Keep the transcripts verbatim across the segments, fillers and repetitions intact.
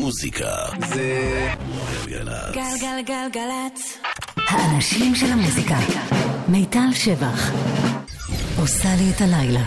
המוזיקה זה גלגלצ. גלגלגלגלצ. האנשים של המוזיקה. מיטל שבח עושה לי את הלילה.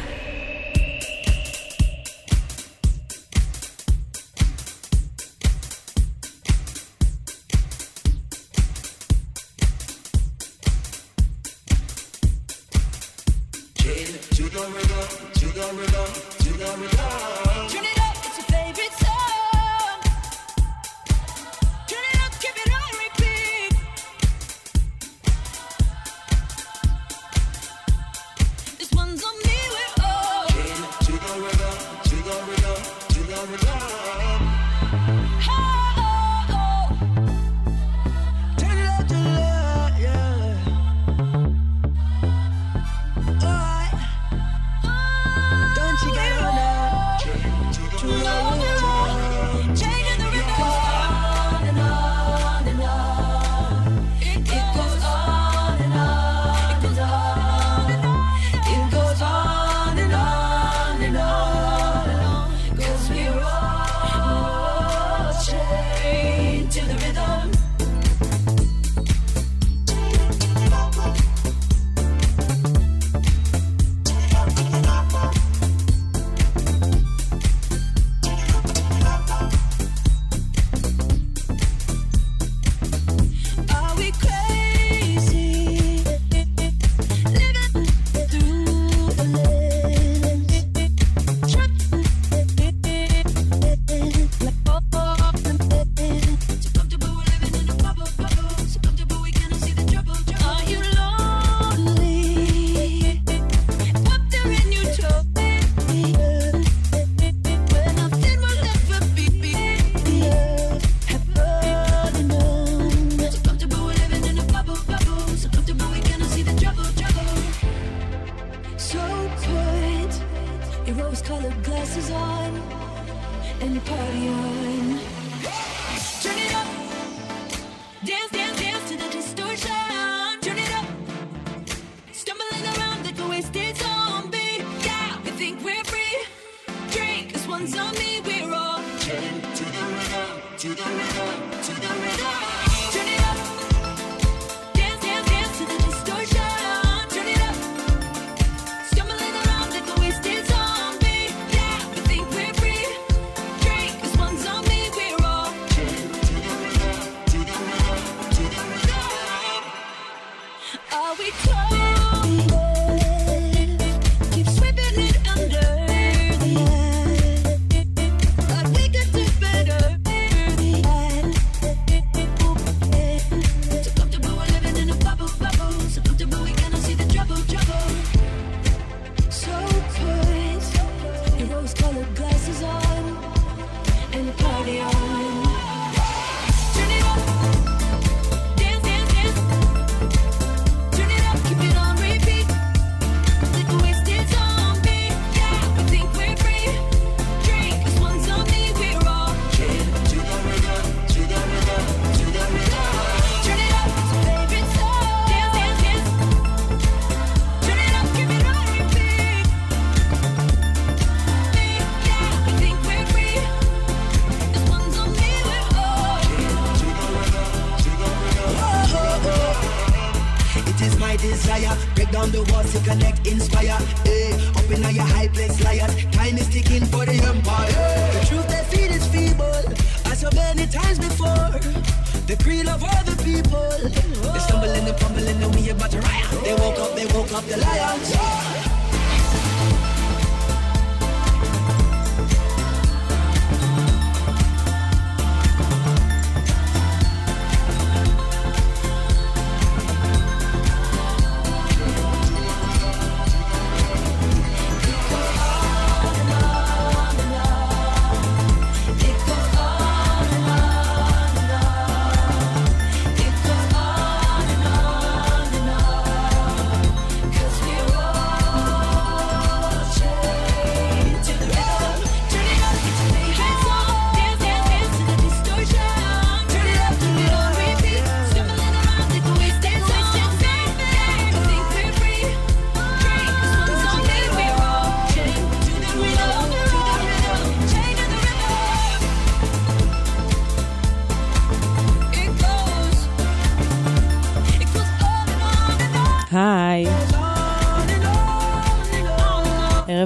Cause we're all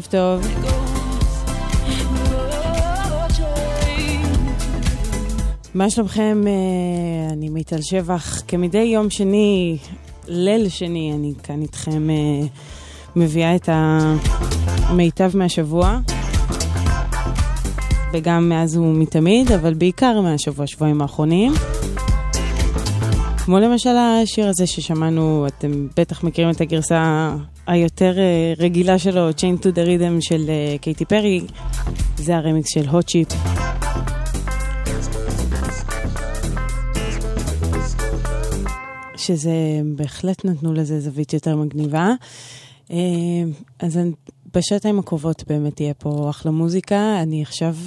טוב. מה שלומכם? אני מיטל שבח. כמדי יום שני, ליל שני, אני כאן איתכם מביאה את המיטב מהשבוע. וגם מאז ומתמיד, אבל בעיקר מהשבוע, שבועיים האחרונים. כמו למשל השיר הזה ששמענו, אתם בטח מכירים את הגרסה היותר רגילה שלו, Chain to the Rhythm של קייטי פרי. זה הרמיקס של Hot Chip. שזה בהחלט נתנו לזה זווית יותר מגניבה. אז בשעתיים הקרובות באמת תהיה פה אחלה מוזיקה. אני עכשיו...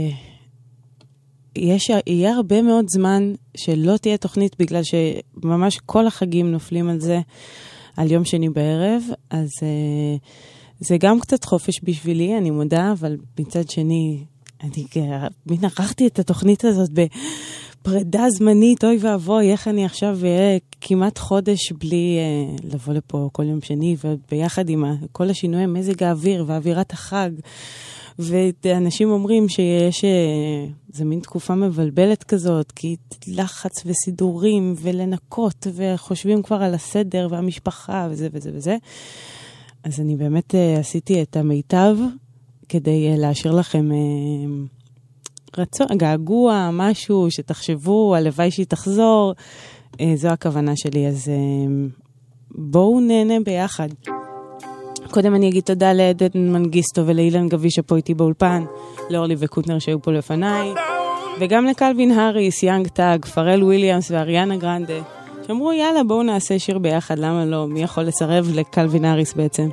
יש, יהיה הרבה מאוד זמן שלא תהיה תוכנית, בגלל שממש כל החגים נופלים על זה, על יום שני בערב, אז זה גם קצת חופש בשבילי, אני מודה, אבל מצד שני, אני מנערכתי את התוכנית הזאת בפרידה זמנית, אוי ואבוי, איך אני עכשיו אהיה כמעט חודש בלי לבוא לפה כל יום שני, וביחד עם כל השינוי מזג האוויר ואווירת החג, ואנשים אומרים שיש, זה מין תקופה מבלבלת כזאת, כי לחץ וסידורים ולנקות, וחושבים כבר על הסדר והמשפחה וזה וזה וזה. אז אני באמת עשיתי את המיטב כדי להשאיר לכם רצון, געגוע, משהו שתחשבו, הלוואי שהיא תחזור. זו הכוונה שלי, אז בואו נהנה ביחד. קודם אני אגיד תודה לעדן מנגיסטו ולאילן גבי שפה איתי באולפן, לאורלי וקוטנר שהיו פה לפניי, וגם לקלווין האריס, יאנג טאג, פרל וויליאמס ואריאנה גרנדה, שאמרו יאללה בואו נעשה שיר ביחד, למה לא? מי יכול לסרב לקלווין האריס בעצם?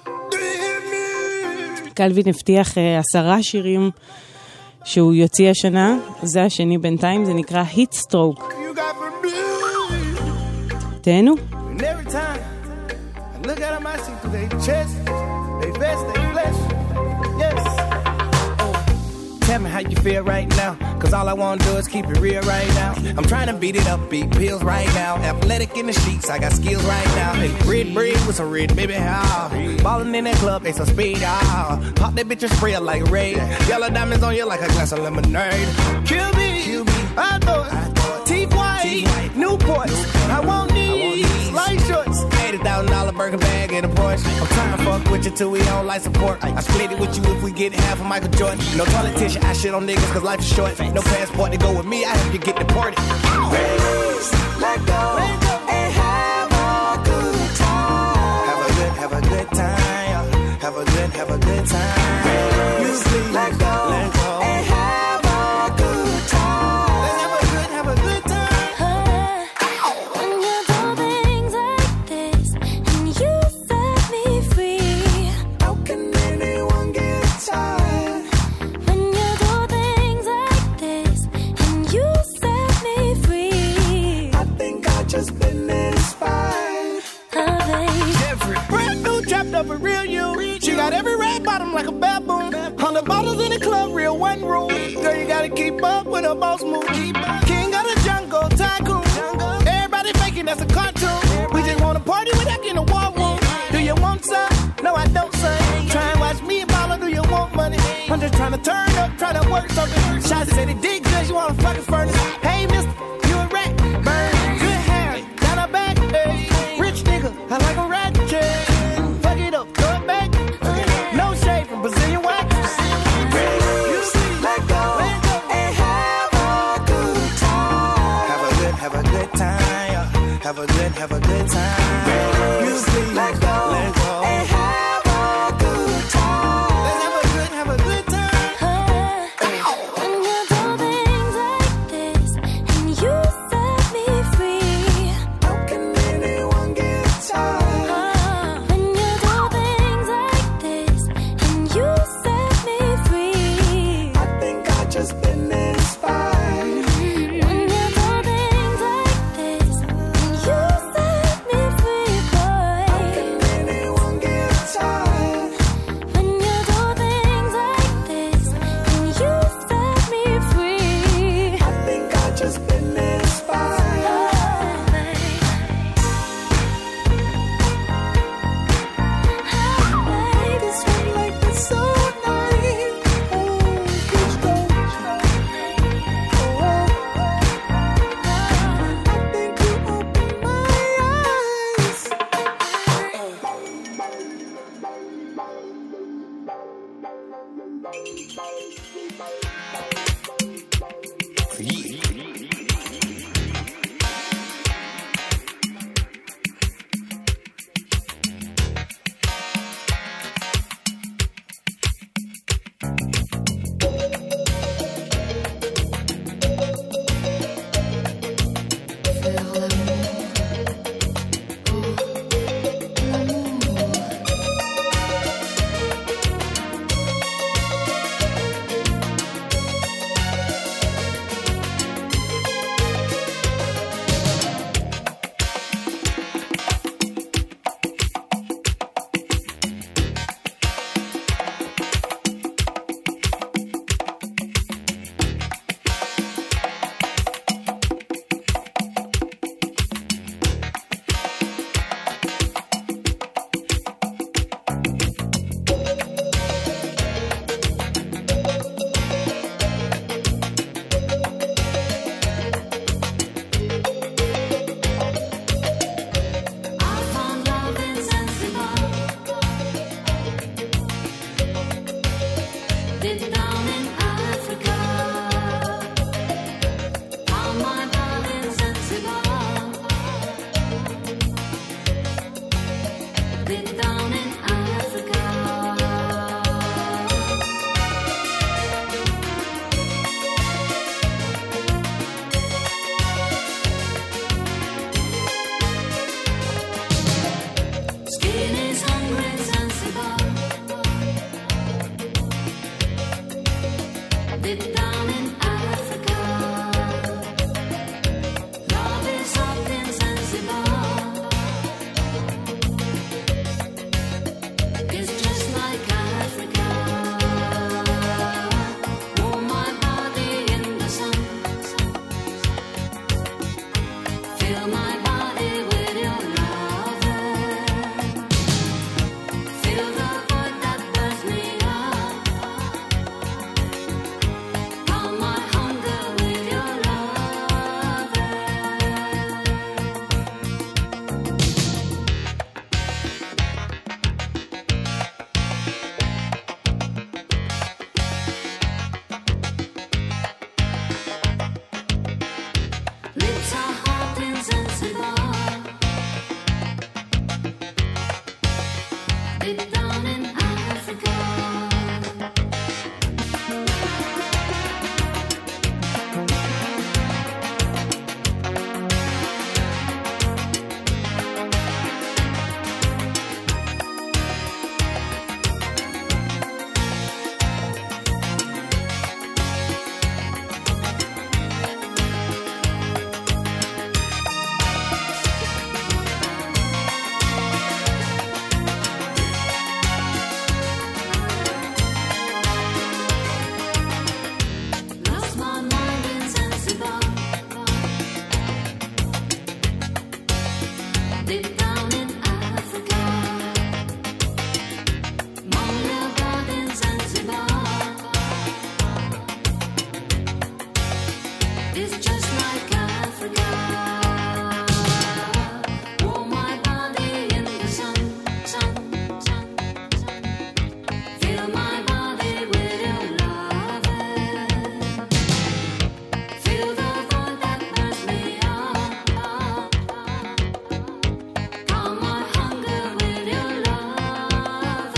קלווין הבטיח uh, עשרה שירים שהוא יוציא השנה, זה השני בינתיים, זה נקרא Heat Stroke. תהנו. Look at them, I see through their chest, they vest, they flesh, yes. Oh. Tell me how you feel right now, cause all I wanna do is keep it real right now. I'm trying to beat it up, beat pills right now. Athletic in the sheets, I got skills right now. Hey, red bread with some red, baby, how? Ballin' in that club, they some speed, ah. Pop that bitch and spray it like raid. Yellow diamonds on you like a glass of lemonade. Kill me, Kill me. I thought, teeth white, Newports, I want these light shorts. eighty thousand dollar burger bag in a Porsche. I'm trying to fuck with you till we on life support. I split it with you if we get half of Michael Jordan. No politician, I shit on niggas cause life is short. No passport to go with me, I have to get deported. Raise, let go, let go, and have a good time. Have a good, have a good time. Have a good, have a good time. Raise, let go, let go, and have a good time. Let's have a good, have a good time. When you do things like this and you set me free, How can anyone get tired? when you do things like this and you set me free, I think I just been inspired. oh baby, Every brand new trapped up a real you. She got every red bottom like a baboon. Hundred bottles in the club, real one room. Girl, you gotta keep up with her boss move. King of the jungle, tycoon. Everybody faking that's a cartoon. We just wanna party without getting a war room. Do you want some? No, I don't, son. Try and watch me ball or do you want money? I'm just trying to turn up, trying to work something. Shots said it did good, you wanna fucking furnace. Hey, mister, you a rat. Burn, good hair, down her back. Hey, rich nigga, I like a rat chain. Fuck it up, throw it back. No shade from Brazilian wax. Let go, and have a good time. Have a good, have a good time. Have a good, have a good time. Let go, let go, and have a good time. Let's have a good, have a good time. when you do down in Africa. Love is up in Zanzibar. It's just like Africa. Warm my body in the sun. Fill my body with your love. Fill the void that burns me up. Calm my hunger with your love. Lips are hot in Zanzibar. Deep down in Africa. Lost my mind in Zanzibar. Deep down in Africa. Monia God in Zanzibar. It's just like Africa. Warm my body in the sun, sun, sun, sun. Fill my body with your love. Fill the void that burns me up. Calm my hunger with your love.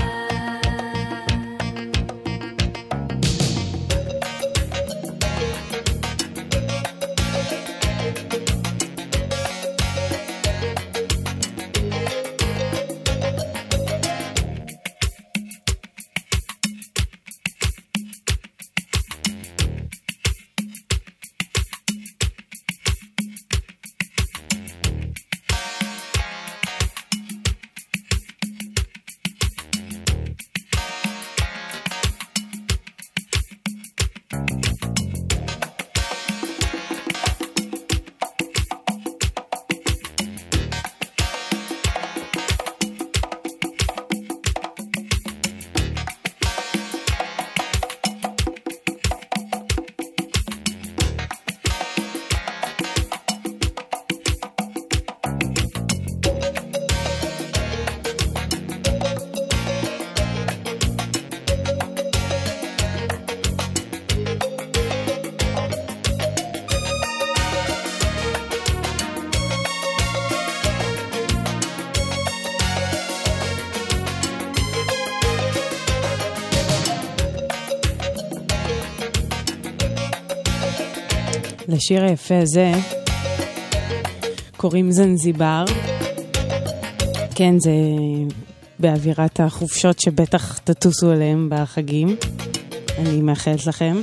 לשיר היפה הזה קוראים זנזיבר. כן, זה באווירת החופשות שבטח תטוסו עליהם בחגים. אני מאחלת לכם.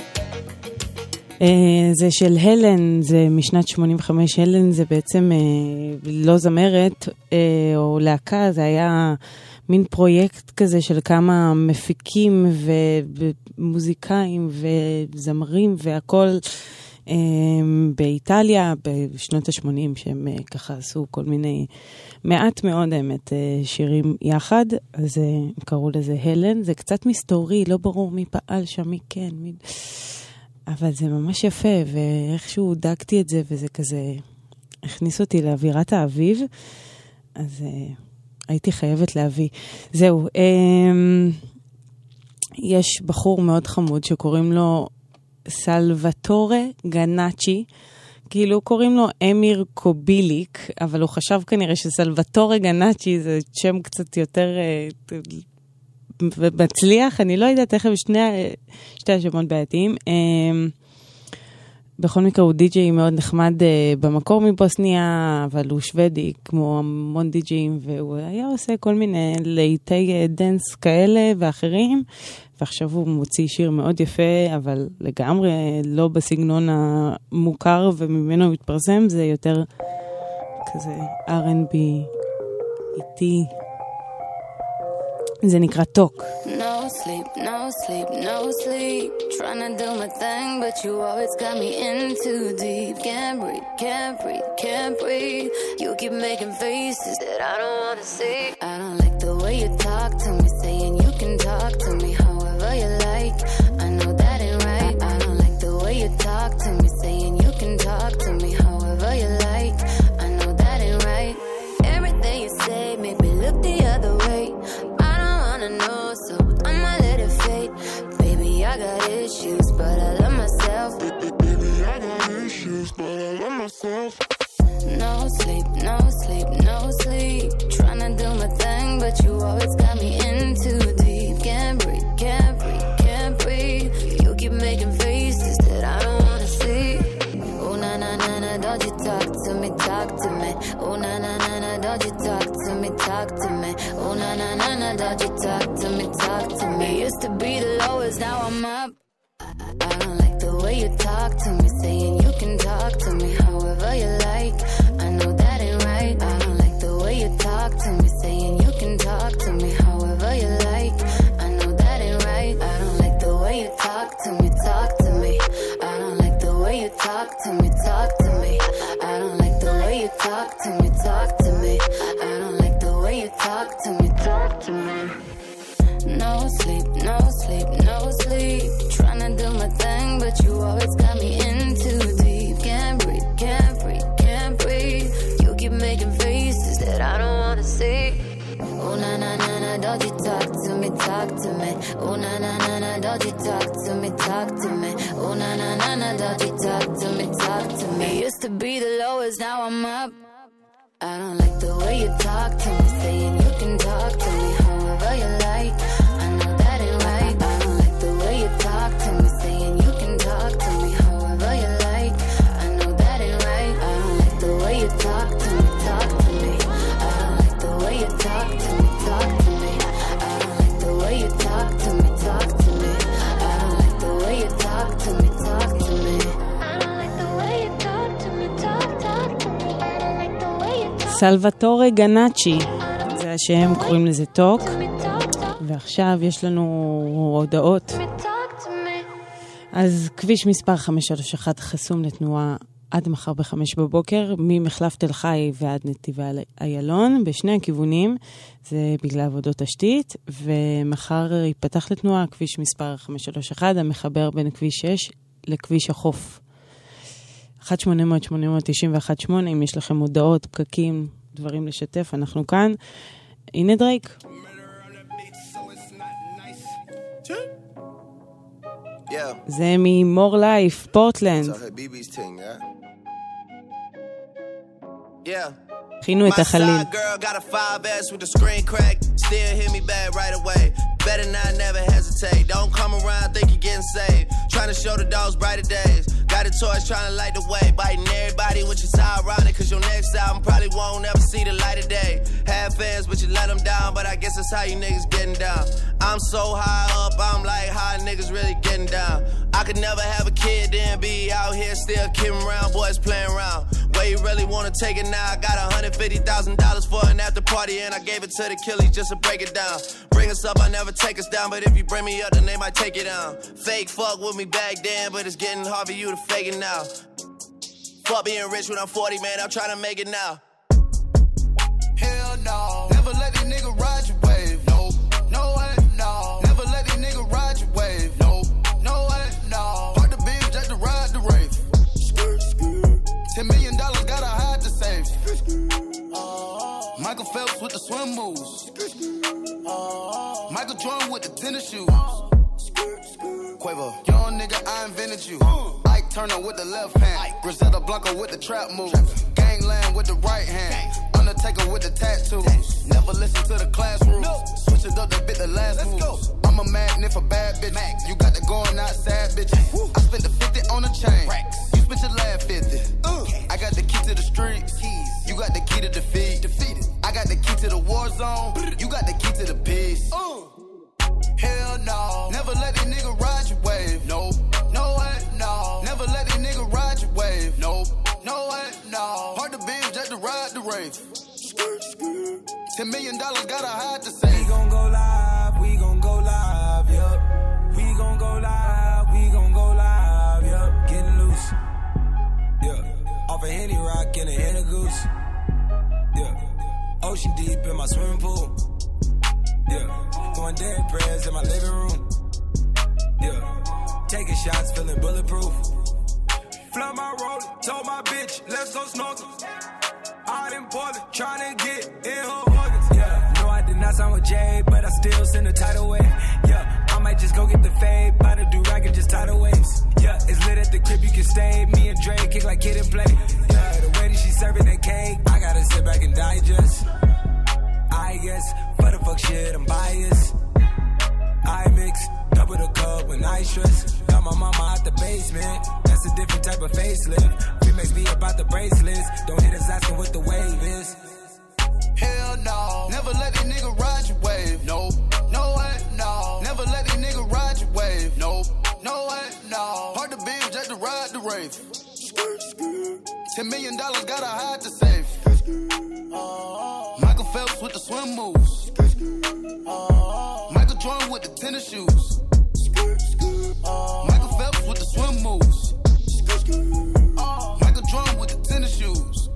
זה של הלן, זה משנת שמונים וחמש. הלן זה בעצם לא זמרת או להקה, זה היה מין פרויקט כזה של כמה מפיקים ומוזיקאים וזמרים והכל באיטליה בשנות ה-שמונים, שהם ככה עשו כל מיני, מעט מאוד האמת, שירים יחד. אז קראו לזה הלן. זה קצת מסתורי, לא ברור מי פעל שם, מי כן, מי... אבל זה ממש יפה, ואיכשהו דגתי את זה, וזה כזה הכניס אותי לאווירת האביב, אז הייתי חייבת להביא. זהו, יש בחור מאוד חמוד שקוראים לו סלווטורה גנאצ'י, כאילו קוראים לו אמיר קוביליק, אבל הוא חשב כנראה שסלווטורה גנאצ'י זה שם קצת יותר מצליח, אני לא יודעת איך הם שני, שתי השמות בעייתיים. בכל מקרה הוא די-ג'יי מאוד נחמד uh, במקור מבוסניה, אבל הוא שוודי כמו המון די-ג'יים, והוא היה עושה כל מיני לעיתי דנס כאלה ואחרים, ועכשיו הוא מוציא שיר מאוד יפה, אבל לגמרי לא בסגנון המוכר וממנו הוא מתפרסם, זה יותר כזה אר אנד בי איטי. זה נקרא טוק. No sleep, no sleep, no sleep. Trying to do my thing, but you always got me in too deep. Can't breathe, can't breathe, can't breathe. You keep making faces that I don't wanna see. I don't like the way you talk to me, saying you can talk to me however you like. I know that ain't right. I don't like the way you talk to me, saying you can talk to me however you like. I know that ain't right. Everything you say made me look the other way. Know, so I'ma let it fade. Baby, I got issues, but I love myself. Baby, I got issues, but I love myself. No sleep, no sleep, no sleep. Tryna do my thing, but you always got me in too deep. Can't breathe, can't breathe, can't breathe. You keep making faces that I don't wanna see. Oh na na na na, don't you talk to me, talk to me. Oh na na na na, don't you talk to me, talk to me. Oh na na na na, don't you talk to me, talk to me. Used to be the lowest, now I'm up. I don't like the way you talk to me, saying you can talk to me however you like. I know that ain't right. I don't like the way you talk to me, saying you can talk to me however you like. I know that ain't right. I don't like the way you talk to me, talk to me. I don't like the way you talk to me, talk to me. I don't like the way you talk to me, talk to me. I don't like the way you talk to me, talk to me. No sleep, no sleep, no sleep. Tryna do my thing, but you always got me in too deep. Can't breathe, can't breathe, can't breathe. You keep making faces that I don't wanna see. Oh na na na na, don't you talk to me, talk to me. Oh na na na na, don't you talk to me, talk to me. Oh na na na na, don't you talk to me, talk to me. Used to be the lowest, now I'm up. I don't like the way you talk to me, saying you can talk to me however you like. I know that ain't right. I don't like the way you talk to me, saying you can talk to me however you like. I know that ain't right. I don't like the way you talk to me, talk to me. I don't like the way you talk to me, talk to me. I don't like the way you talk to me, talk to me. I don't like the way you talk to me, talk to me. I don't like the way you talk to me, talk, talk to me. I don't like the way you talk. סלווטורי גנאצ'י, זה השם, קוראים לזה טוק. ועכשיו יש לנו הודעות. אז כביש מספר חמש שלוש אחת חסום לתנועה עד מחר בחמש בבוקר, ממחלף תל חי ועד נתיבי איילון, בשני הכיוונים, זה בגלל עבודות תשתית, ומחר ייפתח לתנועה כביש מספר חמש שלוש אחת, המחבר בין כביש שש לכביש החוף. אחת שמונה אפס אפס שמונה תשע אחת שמונה, אם יש לכם הודעות, פקקים, דברים לשתף, אנחנו כאן. הנה דרייק. זה מ-More Life, פורטלנד. הכינו את החליל. Better not never hesitate. Don't come around think you're getting saved. Trying to show the dogs brighter days. Got a torch trying to light the way. Biting everybody, which is ironic, cause your next album probably won't ever see the light of day. Have fans, but you let them down. But I guess that's how you niggas getting down. I'm so high up, I'm like, how niggas really getting down? I could never have a kid, then be out here still kidding around. Boys playing around. Where you really wanna take it now? I got one hundred fifty thousand dollars for an after party, and I gave it to the killies just to break it down. Bring us up, I never take us down, but if you bring me up, then they might take it down. Fake fuck with me back then, but it's getting hard for you to fake it now. Fuck being rich when I'm forty, man, I'm trying to make it now. Hell no, never let these niggas ride your wave. No, no way, no. Never let these niggas ride your wave. No, no way, no. Park the beam just to ride the rave. Ten million dollars gotta hide the safe. Michael Phelps with the swim moves. Michael Jordan with the tennis shoes. Quavo, young nigga, I invented you. Ike Turner with the left hand. Griselda Blanco with the trap moves. Gangland with the right hand. Undertaker with the tattoos. Never listen to the class rules. Switch it up to bit the last moves. I'm a magnet for bad bitches. You got the going outside bitches. I spent the fifty on a chain. You spent windows on. You got the key to the piss. Uh. Hell no. Never let that nigga ride your wave. Nope. No way, no. Never let that nigga ride your wave. Nope. No way, no. Hard to binge just to ride the rave. Ten million dollars gotta hide the same. We gon' go live, we gon' go live, yup. We gon' go live, we gon' go live, yup. Getting loose, yeah. Off a Henny Rock and a Henny Goose, yeah. Ocean deep in my swimming pool, yeah. Going dead prayers in my living room, yeah. Taking shots, feeling bulletproof. Flood my roller, told my bitch, let's go snorkel. Out in Portland, tryna get in her organs, yeah. No, I did not sign with Jay, but I still send a tidal wave, yeah. I might just go get the fade, buy the do-rag and just tidal waves, yeah. It's lit at the crib, you can stay. Me and Dre kick like kid and play, yeah. The way that she serving that cake, I gotta sit back and digest. I guess, for the fuck shit, I'm biased. I mix, double the cup when I stress. Got my mama out the basement, that's a different type of facelift. Makes me about the bracelets. Don't hit us asking what the wave is. Hell no. Never let that nigga ride your wave. Nope. No way, no. Never let that nigga ride your wave. Nope. No way, no. Hard to binge just to ride the rave. Ten million dollars gotta hide the safe. Uh, Michael Phelps with the swim moves. Uh, Michael Jordan with the tennis shoes. Uh, Michael Phelps with the swim moves. Uh, Michael Jordan with the tennis shoes.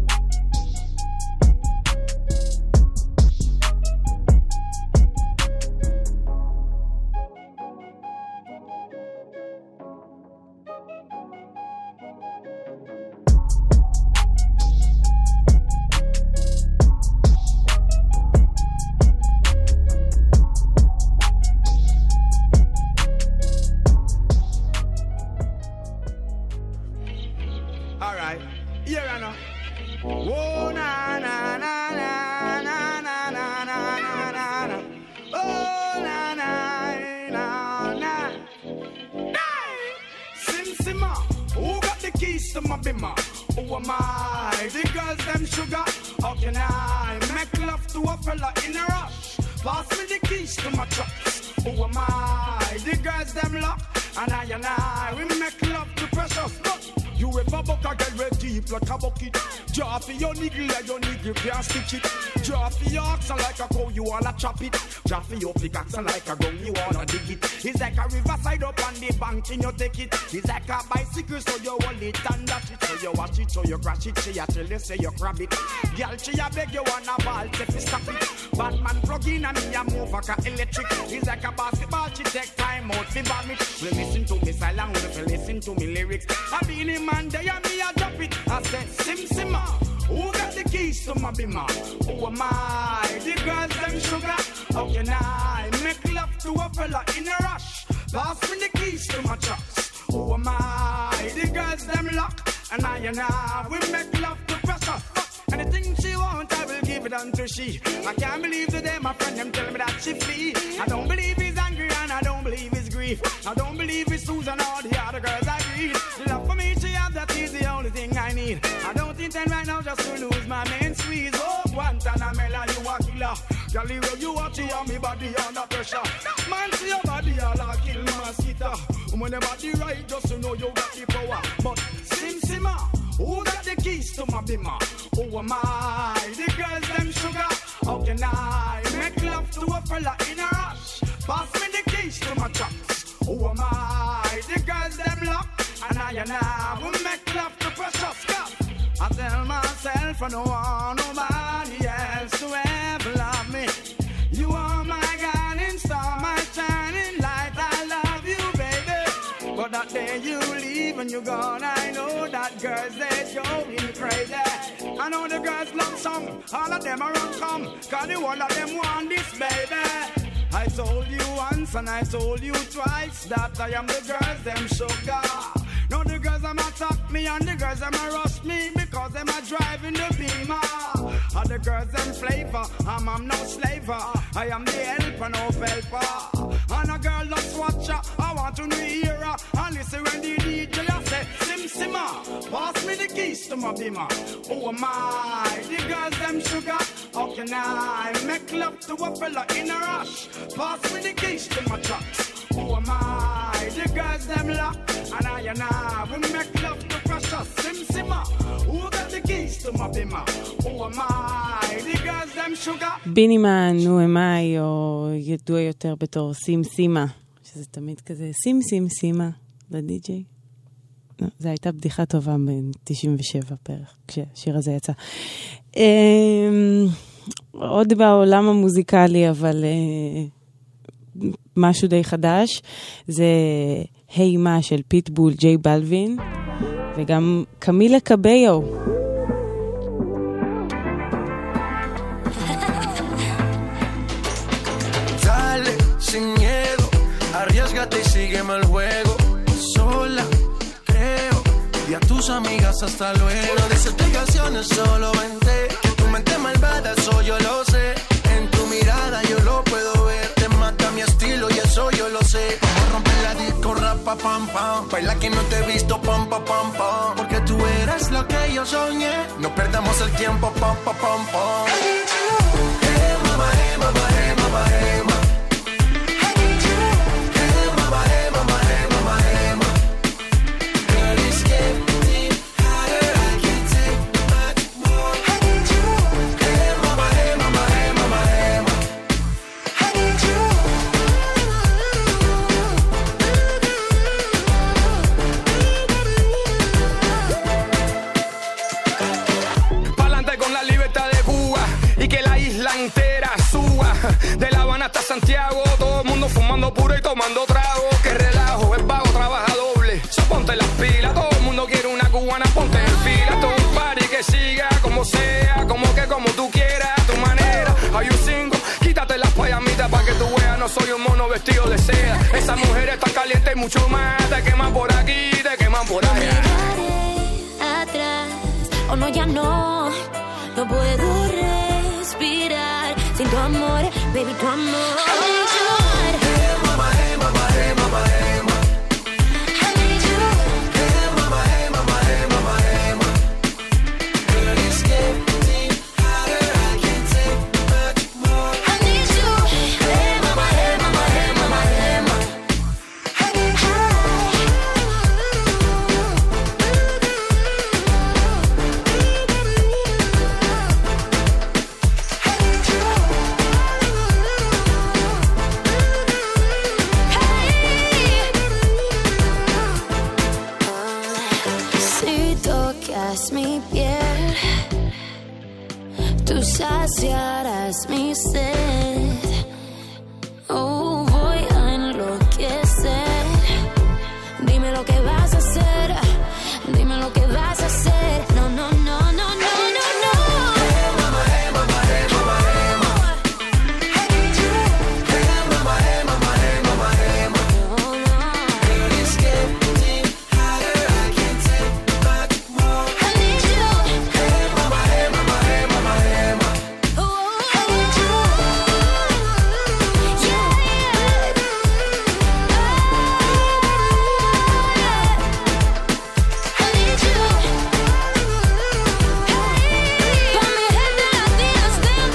Who am I? The girls them sugar. How can I make love to a fella in a rush? Pass me the keys to my trucks. Who am I? The girls them lock. And I and I, we make love to precious. But you ever buck a girl with deep like a bucket. Draw for your niggle like your niggle can't stitch it. Draw for your oxen like a cow, you wanna chop it. Draw for your pickaxe like a gun, you wanna dig it. It's like a riverside up on the bank and you take it. It's like a bicycle so you hold it and dash it. So you watch it, so you crash it, she a tell you say you grab it. Girl, she a beg you wanna ball, say fi stop it. Batman plug in and me a move like a electric. It's like a basketball, she take time out fi bomb it. We listen to me silent, we listen to me lyrics. I be in man day and me a drop it. I say sim simmer. Who got the keys to my bimmer? Who am I? The girls them sugar. How can I make love to a fella in a rush? Pass me the keys to my trucks. Who am I? The girls them lock. And I and I, we make love to pressure. Anything she want, I will give it unto she. I can't believe today my friend them tell me that she flee. I don't believe he's angry and I don't believe he's grief. I don't believe it's Susan or the other girls I read. Love for me she has, that is the only thing I need. I don't intend right now just to lose my main squeeze. Oh, Guantanamela, you a killer. Girl, where you watch you on me body under pressure. Man, see your body all a kill mosquito. When the body right, just to know you got the power. But sim simmer, who got the keys to my bimmer? Who am I? The girls them sugar. How can I make love to a fella in a rush? Pass me the keys to my trucks. Who am I? The girls them lock. And I and I will make love to precious stuff. I tell myself I don't want nobody else to ever love me. You are my guiding star, my shining light. I love you, baby. But that day you leave and you're gone, I know that girls they going crazy. I know the girls love song, all of them are run come, cause the one of them want this, baby. I told you once and I told you twice that I am the girls them sugar. Now the girls them attack me and the girls them rush me because them are driving the beamer. And the girls them flavor, I'm, I'm no slaver. I am the helper, no helper. And a girl loves watcher, I want to hear her. And listen when the D J say sim simmer, pass me the keys to my bimmer. Oh my, the girls them sugar. How can I make love to a fella in a rush? Pass me the keys to my trucks. Oh my, the girls them lock. And I and I will make love to crush us. Sim simmer. Who got the keys to my bimmer? Oh my, the girls them sugar. בינימן, נו אמי, או ידוע יותר בתור שים סימה, שזה תמיד כזה שים שים סימה לדי-ג'יי. זו הייתה בדיחה טובה ב-תשעים ושבע פרח, כשהשיר הזה יצא. עוד בעולם המוזיקלי, אבל משהו די חדש, זה היי מה של פיטבול, ג'יי בלווין, וגם קמילה קביו. Dale, sin miedo, arriésgate y sígueme el juego. Sola, creo, y a tus amigas hasta luego. No des explicaciones, solo vente. Que tu mente malvada, eso yo lo sé. En tu mirada yo lo puedo ver. Te mata mi estilo y eso yo lo sé. Vamos a romper la disco, rapa, pam, pam. Baila que no te he visto, pam, pam, pam, pam. Porque tú eres lo que yo soñé. No perdamos el tiempo, pam, pam, pam, pam. Hey, mama, hey, mama, hey, mama, hey, mama. De La Habana hasta Santiago, todo el mundo fumando puro y tomando trago. Que relajo, el vago trabaja doble. So ponte las pilas, todo el mundo quiere una cubana, ponte en fila. Todo un party que siga como sea, como que como tú quieras, a tu manera. Hay un cinco, quítate las payamitas pa' que tú veas, no soy un mono vestido de seda. Esas mujeres están calientes y mucho más, te queman por aquí, te queman por allá. Atrás, o no, ya no, no puedo respirar sin tu amor, baby, tu amor. I need you. Hey, mama, hey, mama, hey, mama, hey, mama. I need you. Hey, mama, hey, mama, hey, mama, hey, mama. Girl, it's getting hotter, I can't take much more. I need you. Hey, mama, hey, mama, hey, mama, hey, mama. I need you. Mi piel, tú saciarás mi sed. Oh, voy a enloquecer. Dime lo que vas a hacer. Dime lo que vas a hacer. No, no, no, no, no, no, no. Hey, mama, hey, mama, hey, mama, hey, mama. I need you. Hey, mama, hey, mama, hey, mama, hey, mama. No, no. Girl, it's getting hotter, I can't take much more. I need you. Hey, mama, hey, mama, hey, mama, hey, mama. Oh, I need you. Yeah, yeah. I need you. Hey, pa' mi gente latina, stand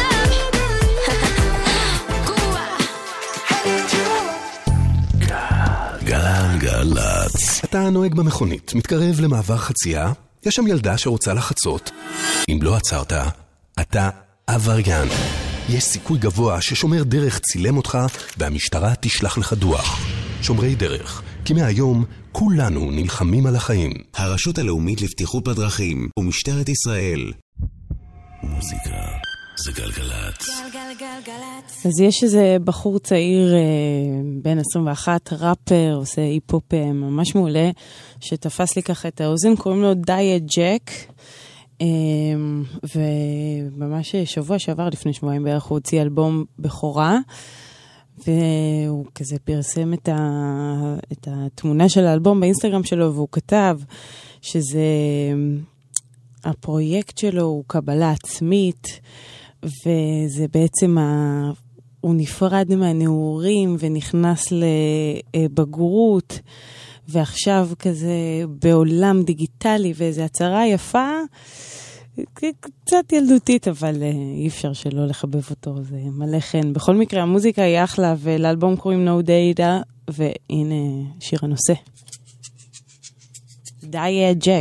up. Cuba. I need you. גלגלצ. אתה נוהג במכונית, מתקרב למעבר חצייה, יש שם ילדה שרוצה לחצות. אם לא עצרת, אתה עבריין. יש סיכוי גבוה ששומר דרך צילם אותך והמשטרה תשלח לך דוח. שומרי דרך, כי מהיום כולנו נלחמים על החיים. הרשות הלאומית לבטיחות בדרכים ומשטרת ישראל. מוזיקה זה גלגלצ. גלגלגלגלצ. אז יש איזה בחור צעיר בן עשרים ואחת, ראפר, עושה היפ-הופ ממש מעולה, שתפס לי ככה את האוזן, קוראים לו דיאט ג'ק, וממש שבוע שעבר, לפני שבועיים בערך, הוא הוציא אלבום בכורה, והוא כזה פרסם את, ה, את התמונה של האלבום באינסטגרם שלו, והוא כתב שזה, הפרויקט שלו הוא קבלה עצמית, וזה בעצם, ה, הוא נפרד מהנעורים ונכנס לבגרות, ועכשיו כזה בעולם דיגיטלי ואיזו הצהרה יפה, קצת ילדותית, אבל אי אפשר שלא לחבב אותו, זה מלא חן. בכל מקרה, המוזיקה היא אחלה, ולאלבום קוראים No Data, והנה שיר הנושא. די ג'ק.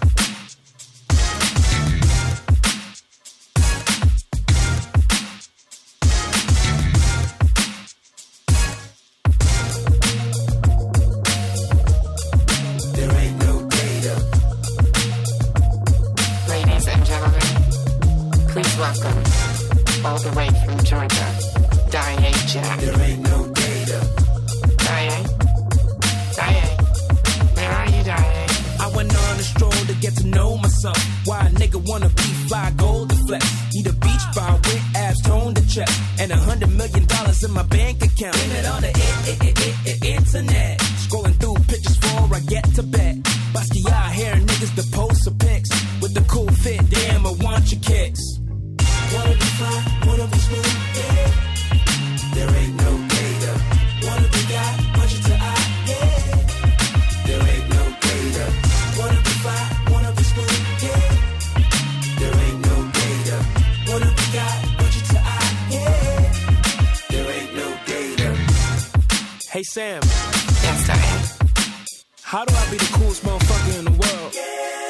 Welcome, all the way from Georgia, Diane Jack. There ain't no data. Diane? Diane? Where are you, Diane? I went on a stroll to get to know myself. Why a nigga wanna be fly, gold to flex. Need a beach bar with abs, tone to check. And a hundred million dollars in my bank account. Blame it on the I- I- I- I- internet. Scrolling through pictures before I get to bed. Basquiat hair niggas the poster pics. With the cool fit, damn, I want your kicks. Wanna be fly, wanna be smooth, yeah. There ain't no data. Wanna be God, punch it to eye, yeah. There ain't no data. Wanna be fly, wanna be smooth, yeah. There ain't no data. Wanna be God, punch it to eye, yeah. There ain't no data. Hey Sam. Yes, Diane. How do I be the coolest motherfucker in the world? Yeah.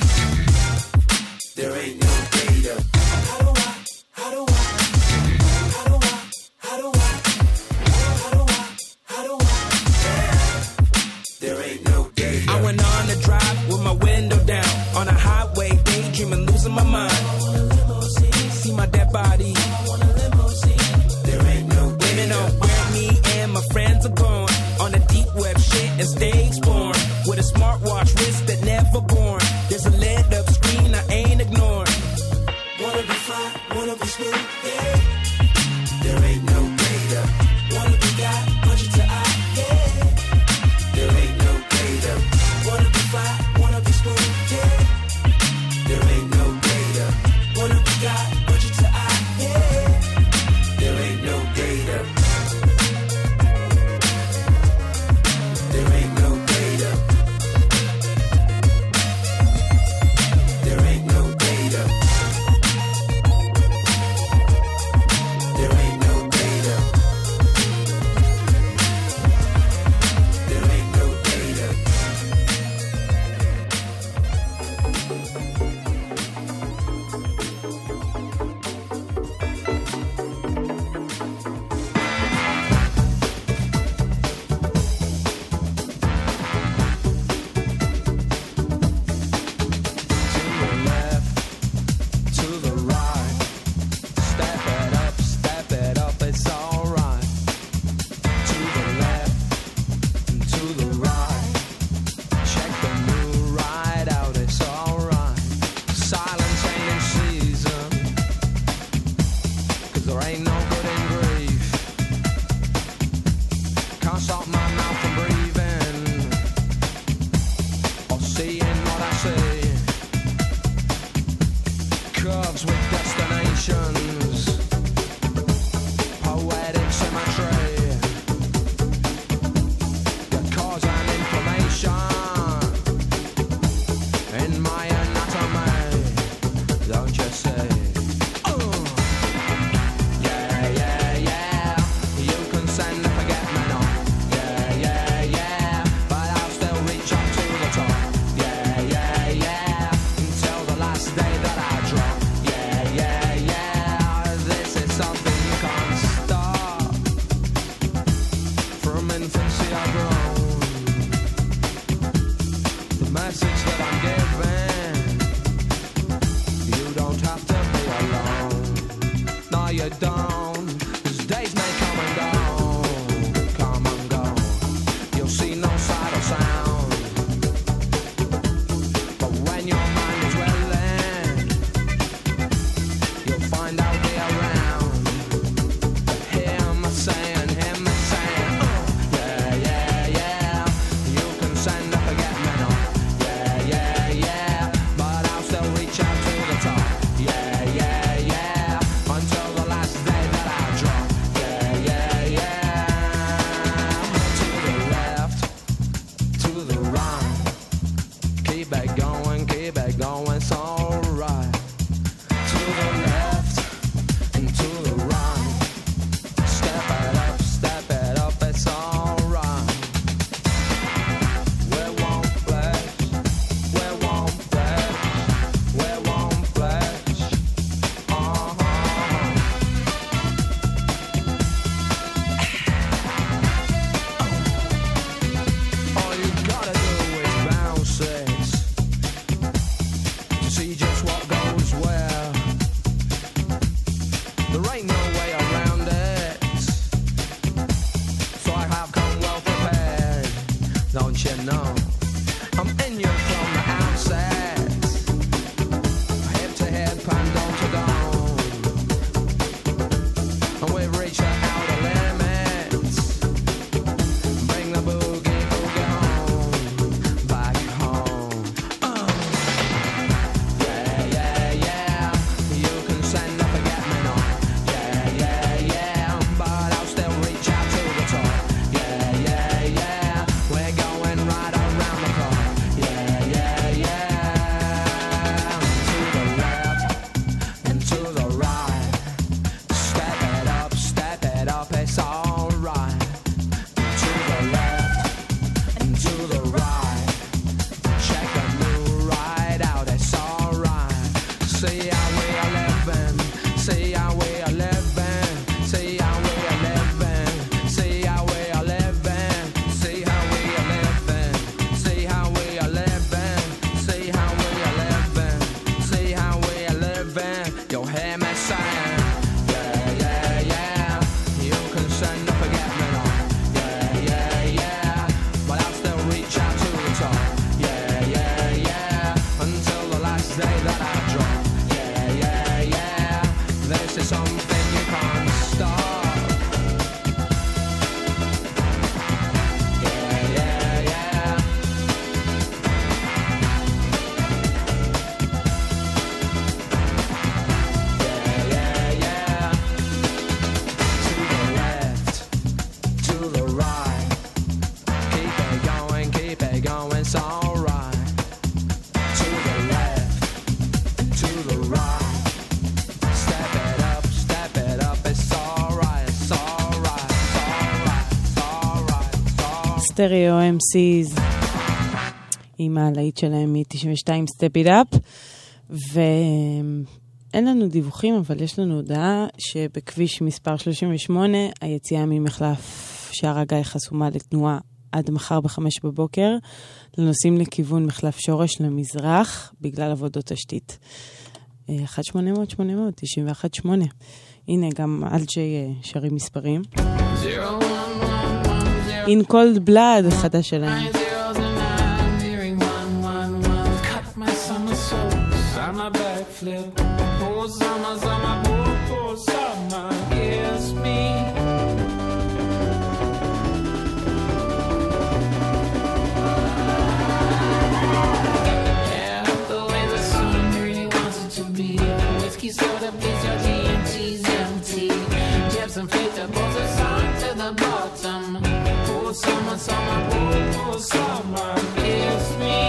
There ain't no data. How do I, how do I, how do I, how do I, how do I, how do I, there ain't no data. I went on a drive with my window down, on a highway, daydreaming, losing my mind. See my dead body. There ain't no data. Women on where me and my friends are going, on a deep web shit and stage born, with a smartwatch wrist that never born. There's a lit up screen I ain't ignoring. Wanna be fly, wanna be smooth, yeah. There ain't no data. Wanna be God, punch it to eye, yeah. There ain't no data. Wanna be fly, wanna be smooth, yeah. There ain't no data. Wanna be God, punch it to eye, yeah. There ain't no data. There ain't no data. There ain't no data. There ain't no data. There ain't no data. To the right, step it up, step it up, it's alright. To the left, to the right, check the new ride out, it's alright. Silence ain't in season, cause there ain't no good in grief. Can't stop my mouth from breathing, or seeing what I see. Curves with destinations, poetic symmetry that cause an inflammation in my anatomy. Don't you see? Uh. Yeah, yeah, yeah. You can send a forget me not. Yeah, yeah, yeah. But I'll still reach up to the top. Yeah, yeah, yeah. Until the last day that I drop. Yeah, yeah, yeah. This is something you can't stop. From infancy I've grown. The message that I'm giving, you don't have to be alone. No, you don't. 'Cause days may come and go, come and go. You'll see no sight or sound. But when your mind is willing, you'll find out they around. Hear me saying, hear me saying, uh, yeah, yeah, yeah. You can send a forget me not. Yeah, yeah, yeah. סטריאו אם סיז עם הלהיט שלהם מ-תשעים ושתיים Step It Up, ואין לנו דיווחים, אבל יש לנו הודעה שבכביש מספר שלושים ושמונה היציאה ממחלף שער הגיא חסומה לתנועה עד מחר בחמש בבוקר, לנוסעים לכיוון מחלף שורש למזרח בגלל עבודות תשתית. אחת שמונה אפס אפס שמונה אפס אפס תשעים ואחת שמונה. הנה גם אלג'י שרים מספרים. In Cold Blood, חדש שלהם. Summer backflip, oh summer, summer, oh, oh summer, kiss me. Yeah, the way the sun really wants it to be. Whiskey soda, please, your D M T's empty. Jabs and fate that pulls us on to the bottom. Oh summer, summer, oh, oh summer, kiss me.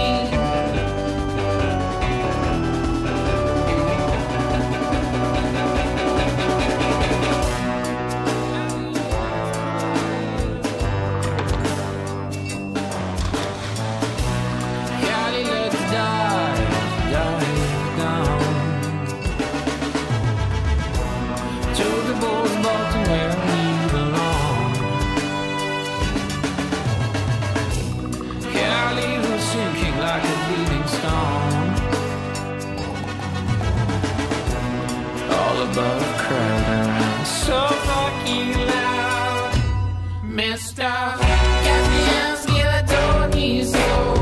Above crowd around so fucking loud, Mister Gatsby and don't need so.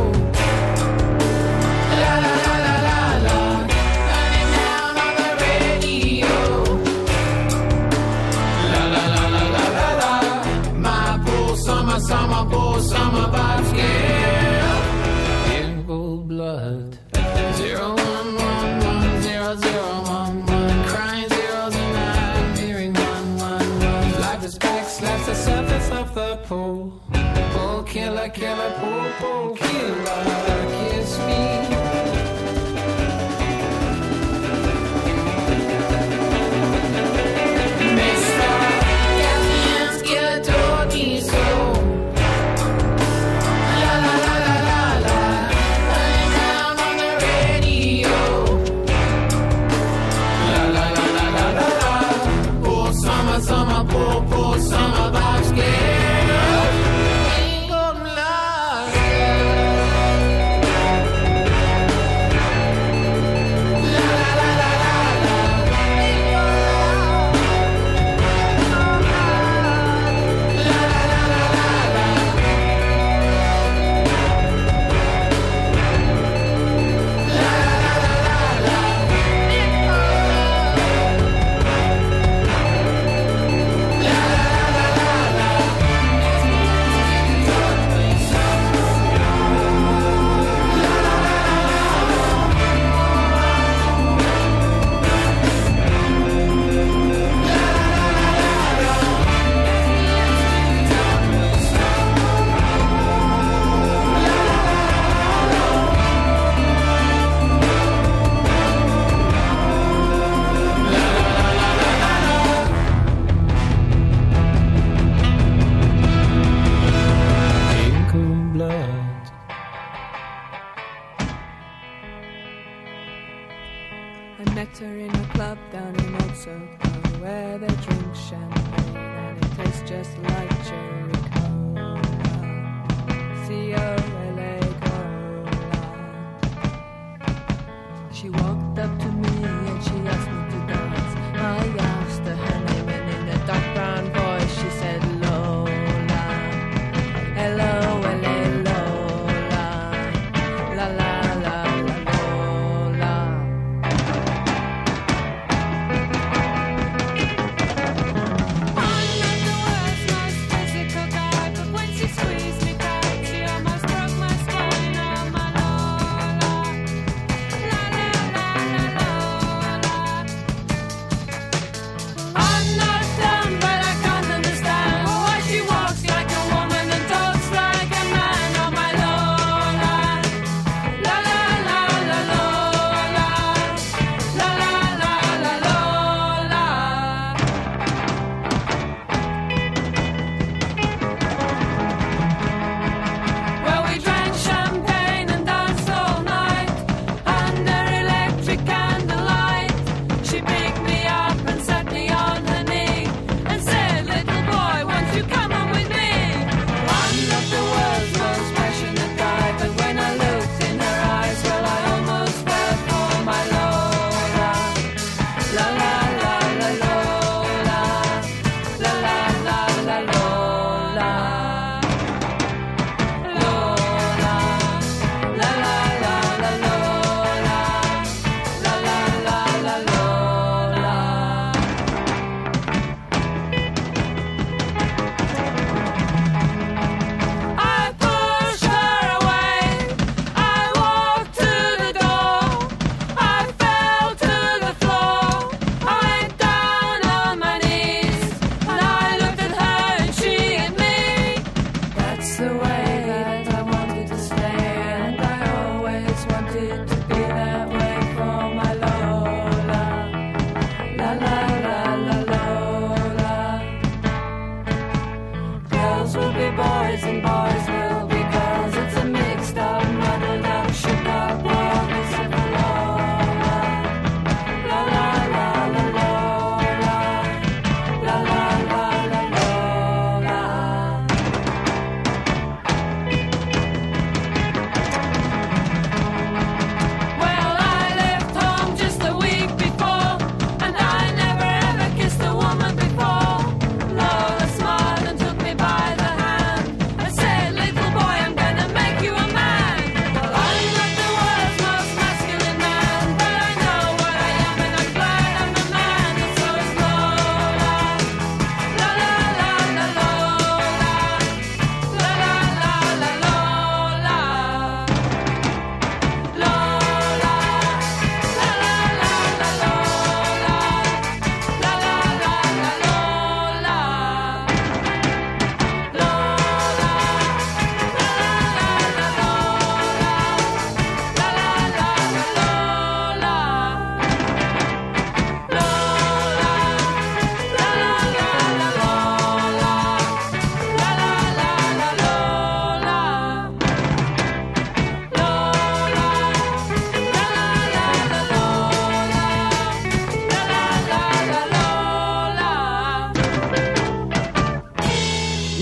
La la la la la la, running down on the radio. La la la la la la la, my poor summer, summer, poor summer vibes, yeah. In cold blood, zero one one one zero zero one. Slaps the surface of the pool. Pool killer, killer, pool, pool killer, kiss me. Mister Gatsby's killer don't need so. La la la la la la, running down on the radio. La la la la la la la, poor summer, summer, poor, poor summer vibes, yeah. Ain't gonna lie, la la la la la la, ain't gonna lie, la la la la la la, la la la la la,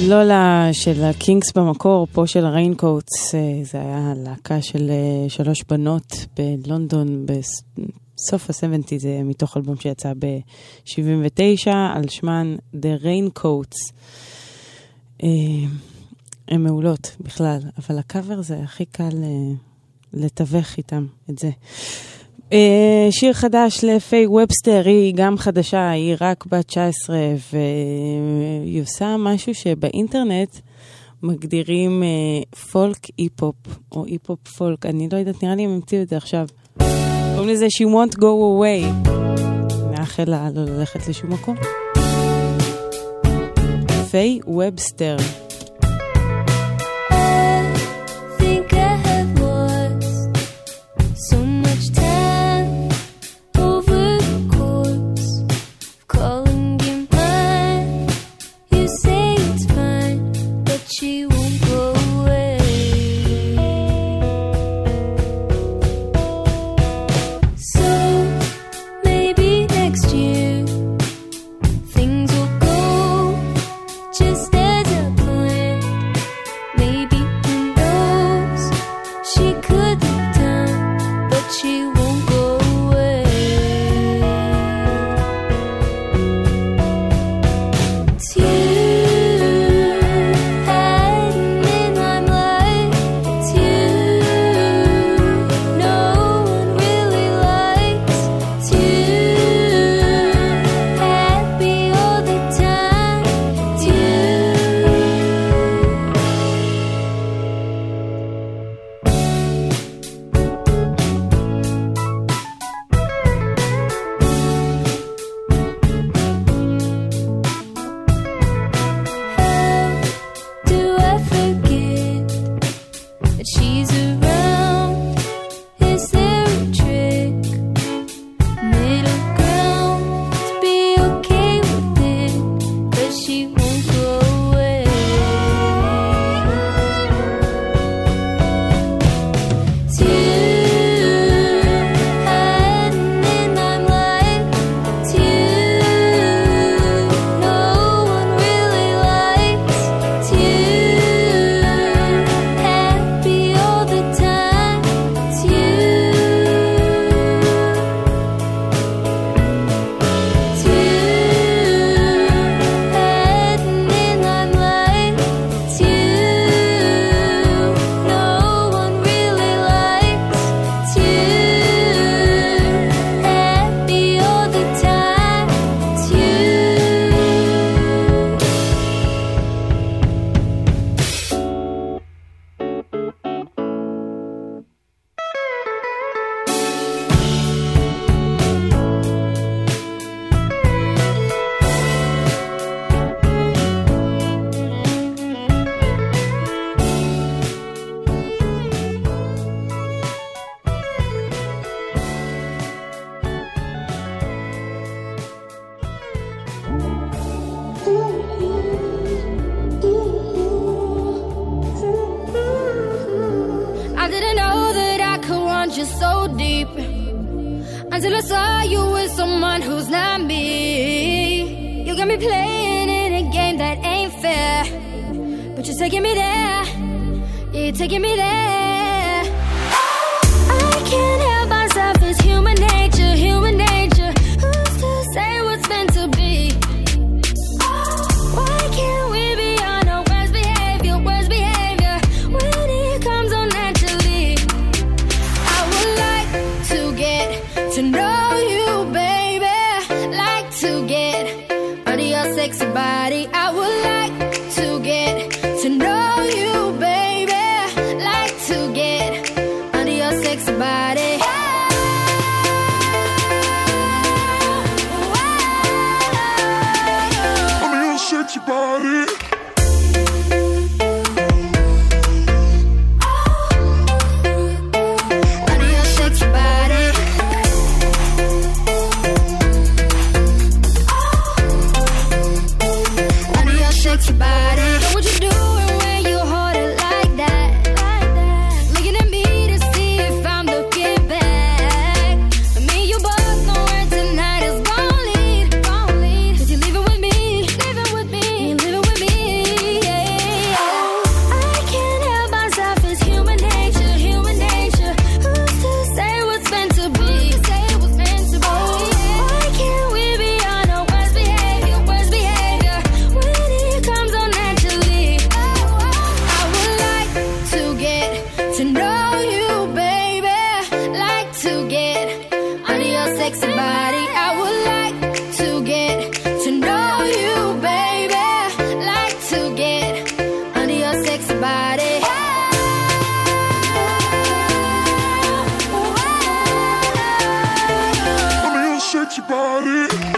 לולה של הקינגס במקור, פה של הריינקוטס, זה היה להקה של שלוש בנות בלונדון בסוף ה-שבעים, זה מתוך אלבום שיצא ב-שבעים ותשע, על שמן The Raincoats. הן מעולות בכלל, אבל הקאבר זה הכי קל לתווך איתם את זה. שיר חדש לפיי ובסטר, היא גם חדשה, היא רק בת תשע עשרה, והיא עושה משהו שבאינטרנט מגדירים פולק אי-פופ, או אי-פופ פולק, אני לא יודעת, נראה לי הם המציאו את זה עכשיו. קוראים לזה She Won't Go Away. נאחל לה לא ללכת לשום מקום. פיי ובסטר. Until I saw you with someone who's not me. You got me playing in a game that ain't fair, but you're taking me there. Yeah, you're taking me there. I can't help myself, it's human nature, human nature. Who's to say what's meant to be? Why can't we be on our worst behavior, worst behavior when it comes on naturally? I would like to get to know you, baby. Like to get under your sexy body. I would like to get to know you, baby. Like to body.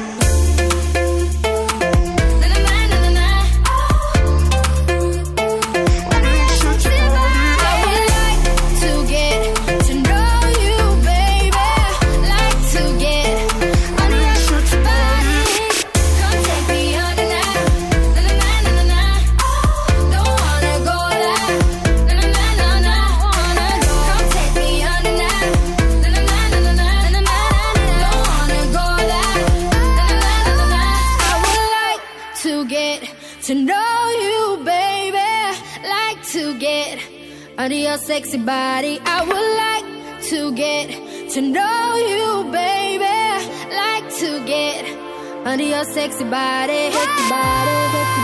To know you, baby, like to get under your sexy body. I would like to get to know you, baby, like to get under your sexy body. Sexy body, sexy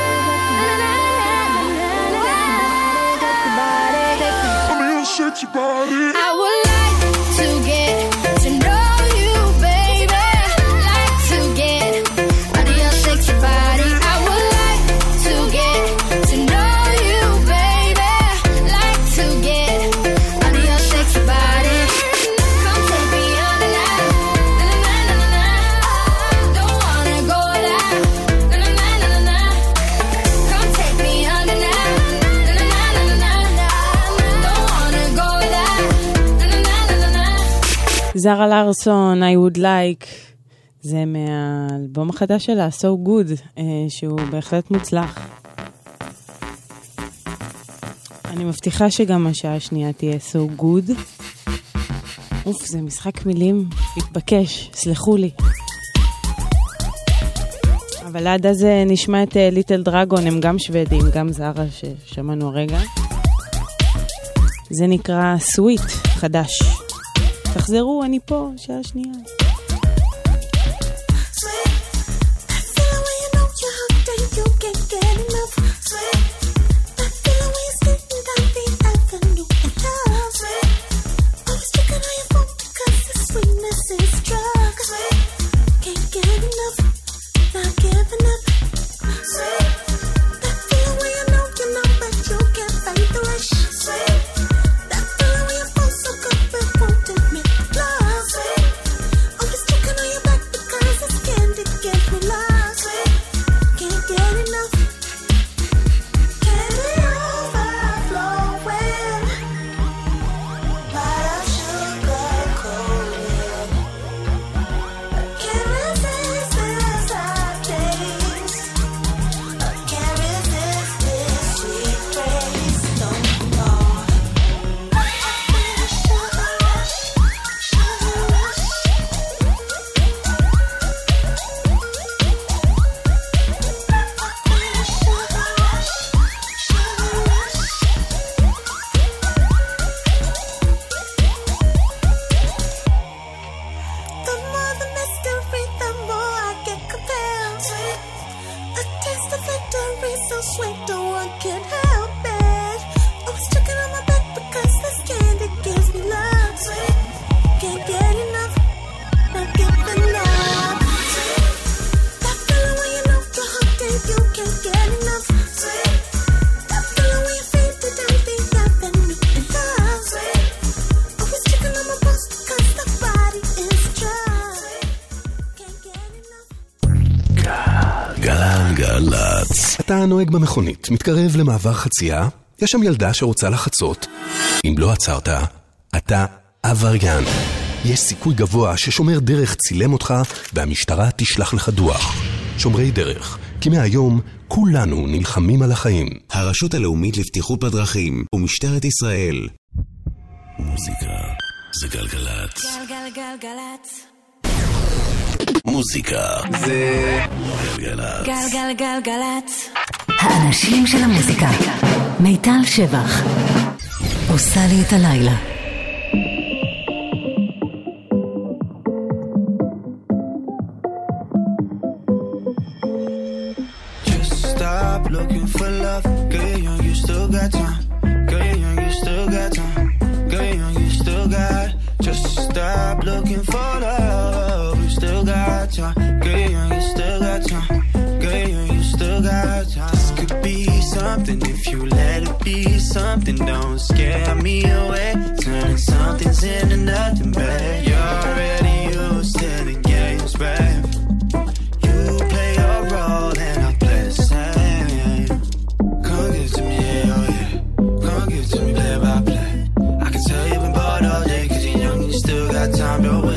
body, under your sexy body. I would like to get to know you, baby, like to get under your sexy body. I would like to get to know you, baby, like to get under your sexy body. Come take me under now, na na na na. Don't wanna go there, na na na na. Come take me under now, na na na na. Don't wanna go there, na na na na. זרה לארסון, I would like. זה מהאלבום החדש שלה, So Good, שהוא בהחלט מוצלח. אני מבטיחה שגם השעה השנייה תהיה So Good. אוף, זה משחק מילים מתבקש, סלחו לי. אבל עד אז נשמע את ליטל דרגון, הם גם שוודים, גם זרה ששמענו הרגע. זה נקרא סוויט, חדש. תחזרו, אני פה, שעה שנייה. אתה נוהג במכונית, מתקרב למעבר חצייה, יש שם ילדה שרוצה לחצות. אם לא עצרת, אתה עבריין. יש סיכוי גבוה ששומר דרך צילם אותך והמשטרה תשלח לך דוח. שומרי דרך, כי מהיום כולנו נלחמים על החיים. הרשות הלאומית לבטיחות בדרכים ומשטרת ישראל. מוזיקה זה גלגלת. גלגלגלגלת. מוזיקה זה גלגלת. גלגלגלגלת. האנשים של המוזיקה. מיטל שבח עושה לי את הלילה. Just stop looking for love. Girl, young, you still got time. Girl, young, you still got time. Girl, young, you still got. Just stop looking for love. You still got time. Girl, young, you still got time. Girl, young, you still got time. This could be something if you let it be something. Don't scare me away. Turning something's into nothing, babe. You're already used to the games, babe.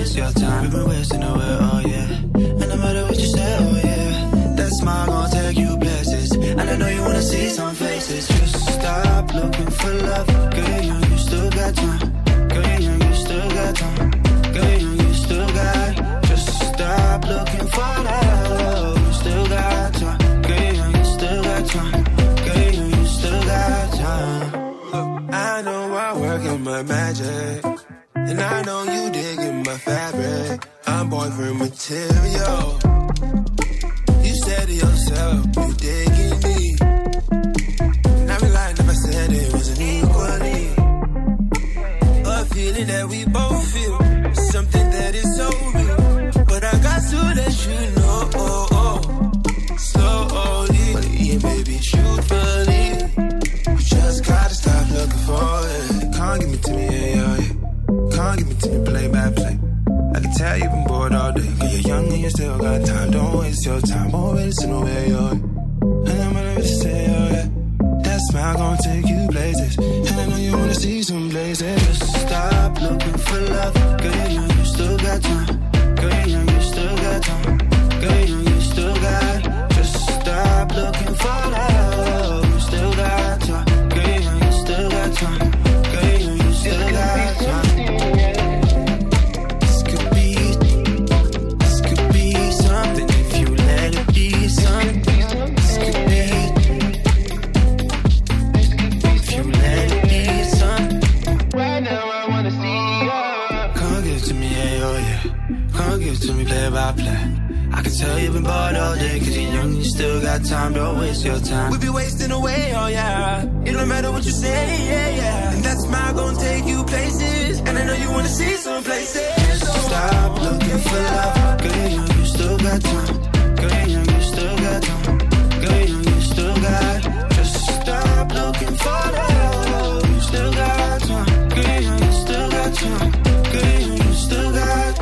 waste your time. We've been wasting away, oh yeah. And no matter what you say, oh yeah, that smile gon' take you places. And I know you wanna see some faces. Just stop looking for love. Girl, you, you still got time. Girl, you, you still got time. Girl, you, you still got. Just stop looking for love. You still got time. Girl, you, you still got time. Girl, you, you still got time. I know I work in my magic, and I know you digging my fabric. I'm boyfriend material. You said to yourself, you digging me, and I be lying if I said it wasn't equally. A feeling that we both feel, something that is so real. But I got to let you know, oh, oh, slowly, yeah, baby, truthfully. You just gotta stop looking for it. Can't give me to me, yeah, yeah, yeah. Can't give me to me, play by play. I can tell you've been bored all day. Cause you're young and you still got time. Don't waste your time. Always in the way, yo. And I'm gonna really say, oh yeah, that smile gon' take you places. And I know you wanna see some places. Just stop looking for love. Girl, you, you still got time. Girl, you, you still got time. Girl, you, you still got. Just stop looking for love. You still got time. Girl, you, you still got time. Girl, you, you still got time. This could be, this could be something if you let it be something. This could be, if you let it be something. Right now I wanna see you. Come give it to me, yeah, oh yeah. Come give it to me, play by play. I can tell you've been bored all day. Cause you're young, you still got time. Don't waste your time. We be wasting away, oh yeah. It don't matter what you say, yeah, yeah. And that smile gon' take you places. And I know you wanna see some places. Just stop looking for love. Girl, you, you still got time. Girl, you, you still got time. Girl, you, you still got. Just stop looking for love. You still got time. Girl, you, you still got time. Girl, you, you still got.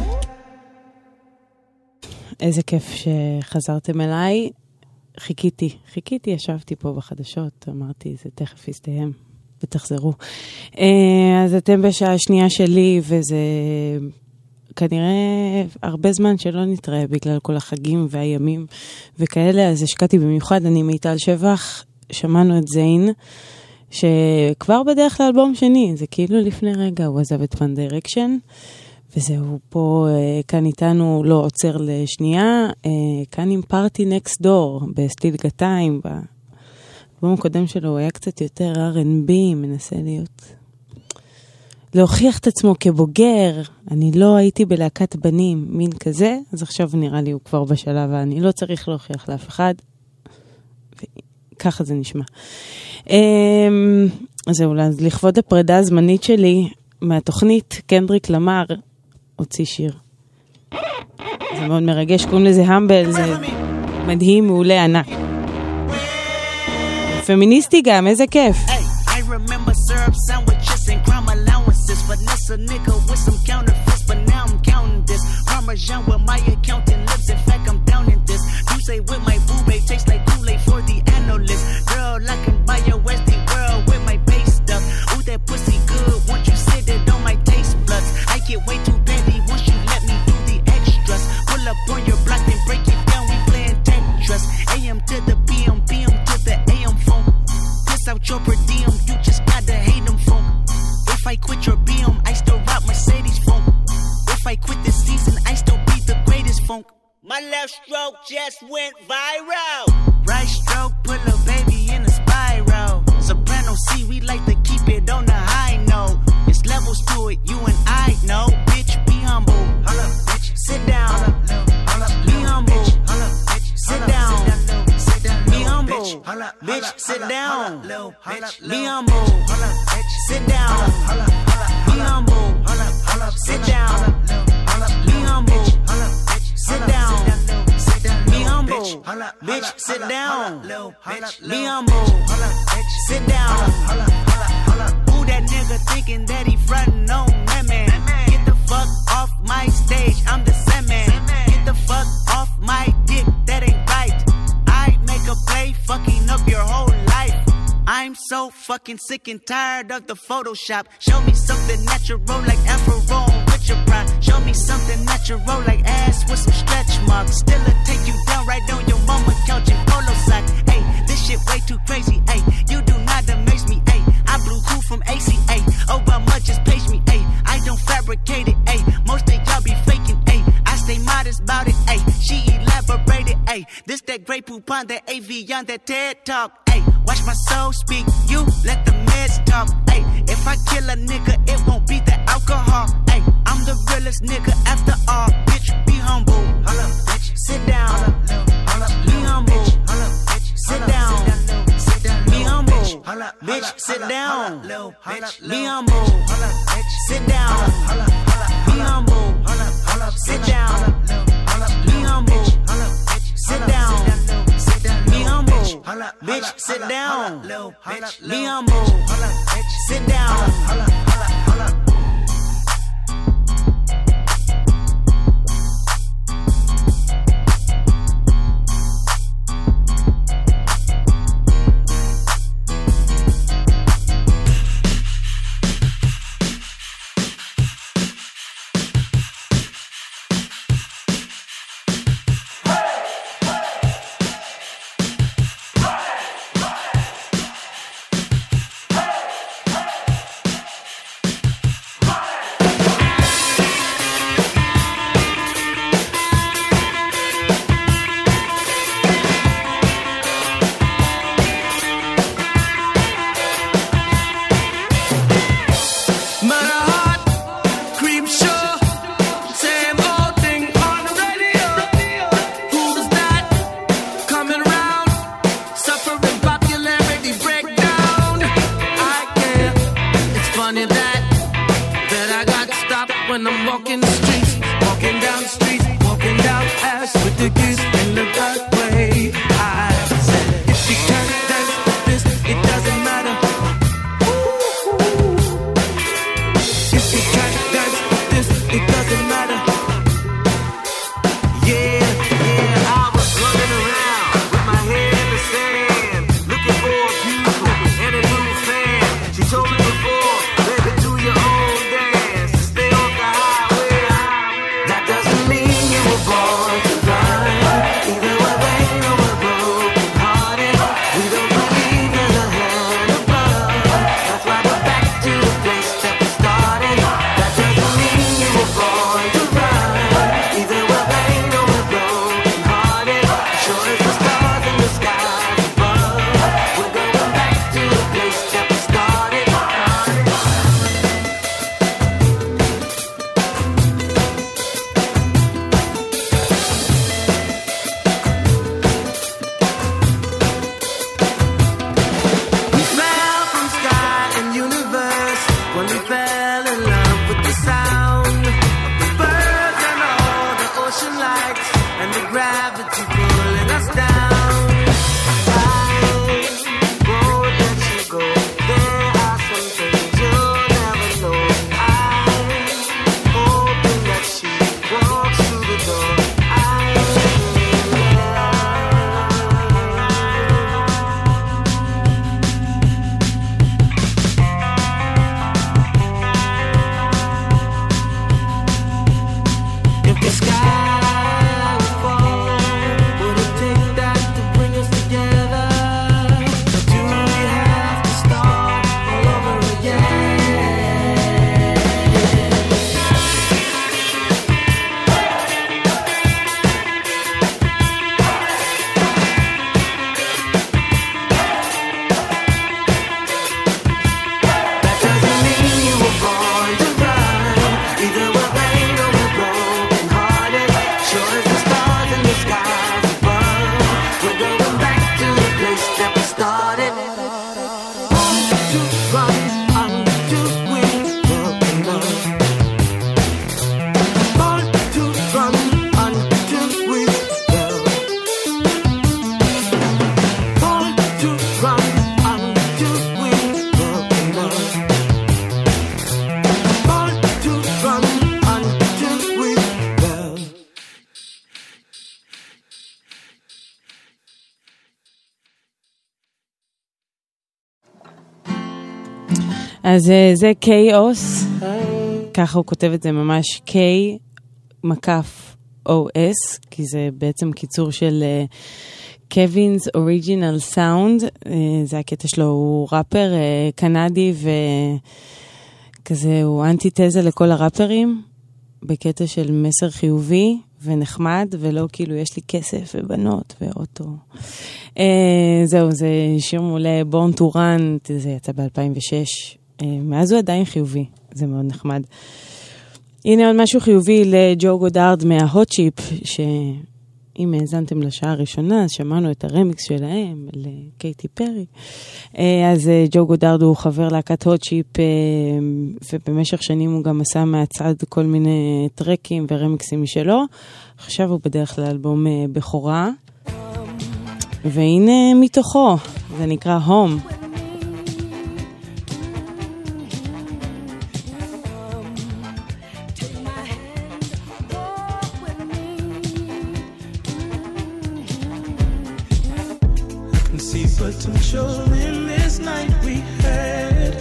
איזה כיף שחזרתם אליי. חיכיתי, חיכיתי, ישבתי פה בחדשות, אמרתי, זה תכף יסתיים, ותחזרו. אז אתם בשעה השנייה שלי, וזה כנראה הרבה זמן שלא נתראה, בגלל כל החגים והימים וכאלה, אז השקעתי במיוחד, אני מיטל שבח, שמענו את זיין, שכבר בדרך לאלבום שני, זה כאילו לפני רגע, הוא עזב את One Direction, וזהו פה, כאן איתנו לא עוצר לשנייה, כאן עם פארטי נקסט דור, בסטיל גתיים, באלבום הקודם שלו הוא היה קצת יותר אר אנד בי, מנסה להיות, להוכיח את עצמו כבוגר, אני לא הייתי בלהקת בנים, מין כזה, אז עכשיו נראה לי הוא כבר בשלב, ואני לא צריך להוכיח לאף אחד, וככה זה נשמע. אז זהו, אז לכבוד הפרידה הזמנית שלי, מהתוכנית, קנדריק למר, הוציא שיר. זה מאוד מרגש, קוראים לזה המבל, זה מדהים, מעולה, ענק. פמיניסטי גם, איזה כיף. I remember syrup sandwiches and crime allowances. Finesse a nigga with some counterfeits, but now I'm counting this. Parmesan with my accountant lips, in fact I'm down in this. You say with my boo babe, tastes like Kool-Aid for the analyst. Girl, I can buy your Westie world with my base stuff. Ooh, that pussy good, once you sit it on my taste buds. I get way too petty once you let me do the extras. Pull up on your block and break it down, we playing Tetris. A M to the P M, P M to the A M phone. Piss out your per diem, you just gotta hate them phone. If I quit your B M, I still rock Mercedes phone. If I quit this season, I still be the greatest funk. My left stroke just went viral. Right stroke put a baby in a spiral. Soprano C, we like to keep it on the high note. It's levels to it, you and I know. Bitch, be humble. Holla, bitch. Sit down. Holla, be humble. Holla, bitch. Sit down. Be humble. Bitch, sit down. Be humble. Sit down. Be humble. Sit down. Be humble. Sit down. Be humble. Bitch, sit down. Be humble. Sit down. Who that nigga thinking that he frontin' on that man? Get the fuck off my stage, I'm the Sandman. Get the fuck off my dick, that ain't right. I make a play, fucking up your whole life. I'm so fucking sick and tired of the Photoshop. Show me something natural like Afro with your pride. Show me something Ay, this that Grey Poupon, that A V on that TED Talk. Ay, watch my soul speak, you let the meds talk. Ay, if I kill a nigga, it won't be the alcohol. Ay, I'm the realest nigga after all. Bitch, be humble. Holla, bitch. Sit down. Holla, be humble. Holla, bitch. Sit down. Be humble. Bitch, sit down. Be humble. Sit down. Be humble. Sit down. Be humble. Sit down. Be humble. Bitch, sit down. Be humble. Sit down. When I'm walking the streets, walking down the streets, walking down ass with the kiss in the dark way. I said, if you can't dance with this, it doesn't matter. Ooh. If you can't dance with this, it doesn't matter. Yeah, yeah, I was running around with my head in the sand, looking for a beautiful and a new fan. She told me before, baby, do your own dance. Stay on the highway. That doesn't mean you were born to run. Either we're vain or we're broken hearted. We don't believe in a hand above. That's why we're back to the place that we started. That doesn't mean you were born to run. Either we're vain or we're broken hearted. Sure as the stars in the sky above. We're going back to the place that we started. We fell from sky and universe when we fell in love with the sound of the birds and all the ocean lights and the gravity pulling us down. I won't let you go. There are some things you'll never know. I'm hoping that she walks through the door. If the sky would fall, would it take that to bring us together? Or do we have to start all over again? That doesn't mean you were born to run. Either we're vain or we're broken hearted. Sure as the stars in the skies above. We're going back to the place that we started. To run until we fell in love. Born to run until we fell. Born to run until we fell in love. Born to run until we fell. אז אה, זה קיוס, ככה הוא כותב את זה ממש K מקף O S, כי זה בעצם קיצור של קווינס אוריג'ינל סאונד. זה הקטע שלו, הוא ראפר אה, קנדי וכזה, הוא אנטיתזה לכל הראפרים, בקטע של מסר חיובי, ונחמד, ולא כאילו יש לי כסף ובנות ואוטו. זהו, זה שיר מולה, Born to Run, זה יצא ב-אלפיים ושש. מאז הוא עדיין חיובי, זה מאוד נחמד. הנה עוד משהו חיובי לג'ו גודארד מההוט צ'יפ, שאם האזנתם לשעה הראשונה, אז שמענו את הרמיקס שלהם לקייטי פרי. אז ג'ו גודארד הוא חבר להקת הוט צ'יפ, ובמשך שנים הוא גם עשה מהצד כל מיני טרקים ורמיקסים משלו. עכשיו הוא בדרך כלל אלבום בכורה. והנה מתוכו, זה נקרא Home. Potential in this night we had,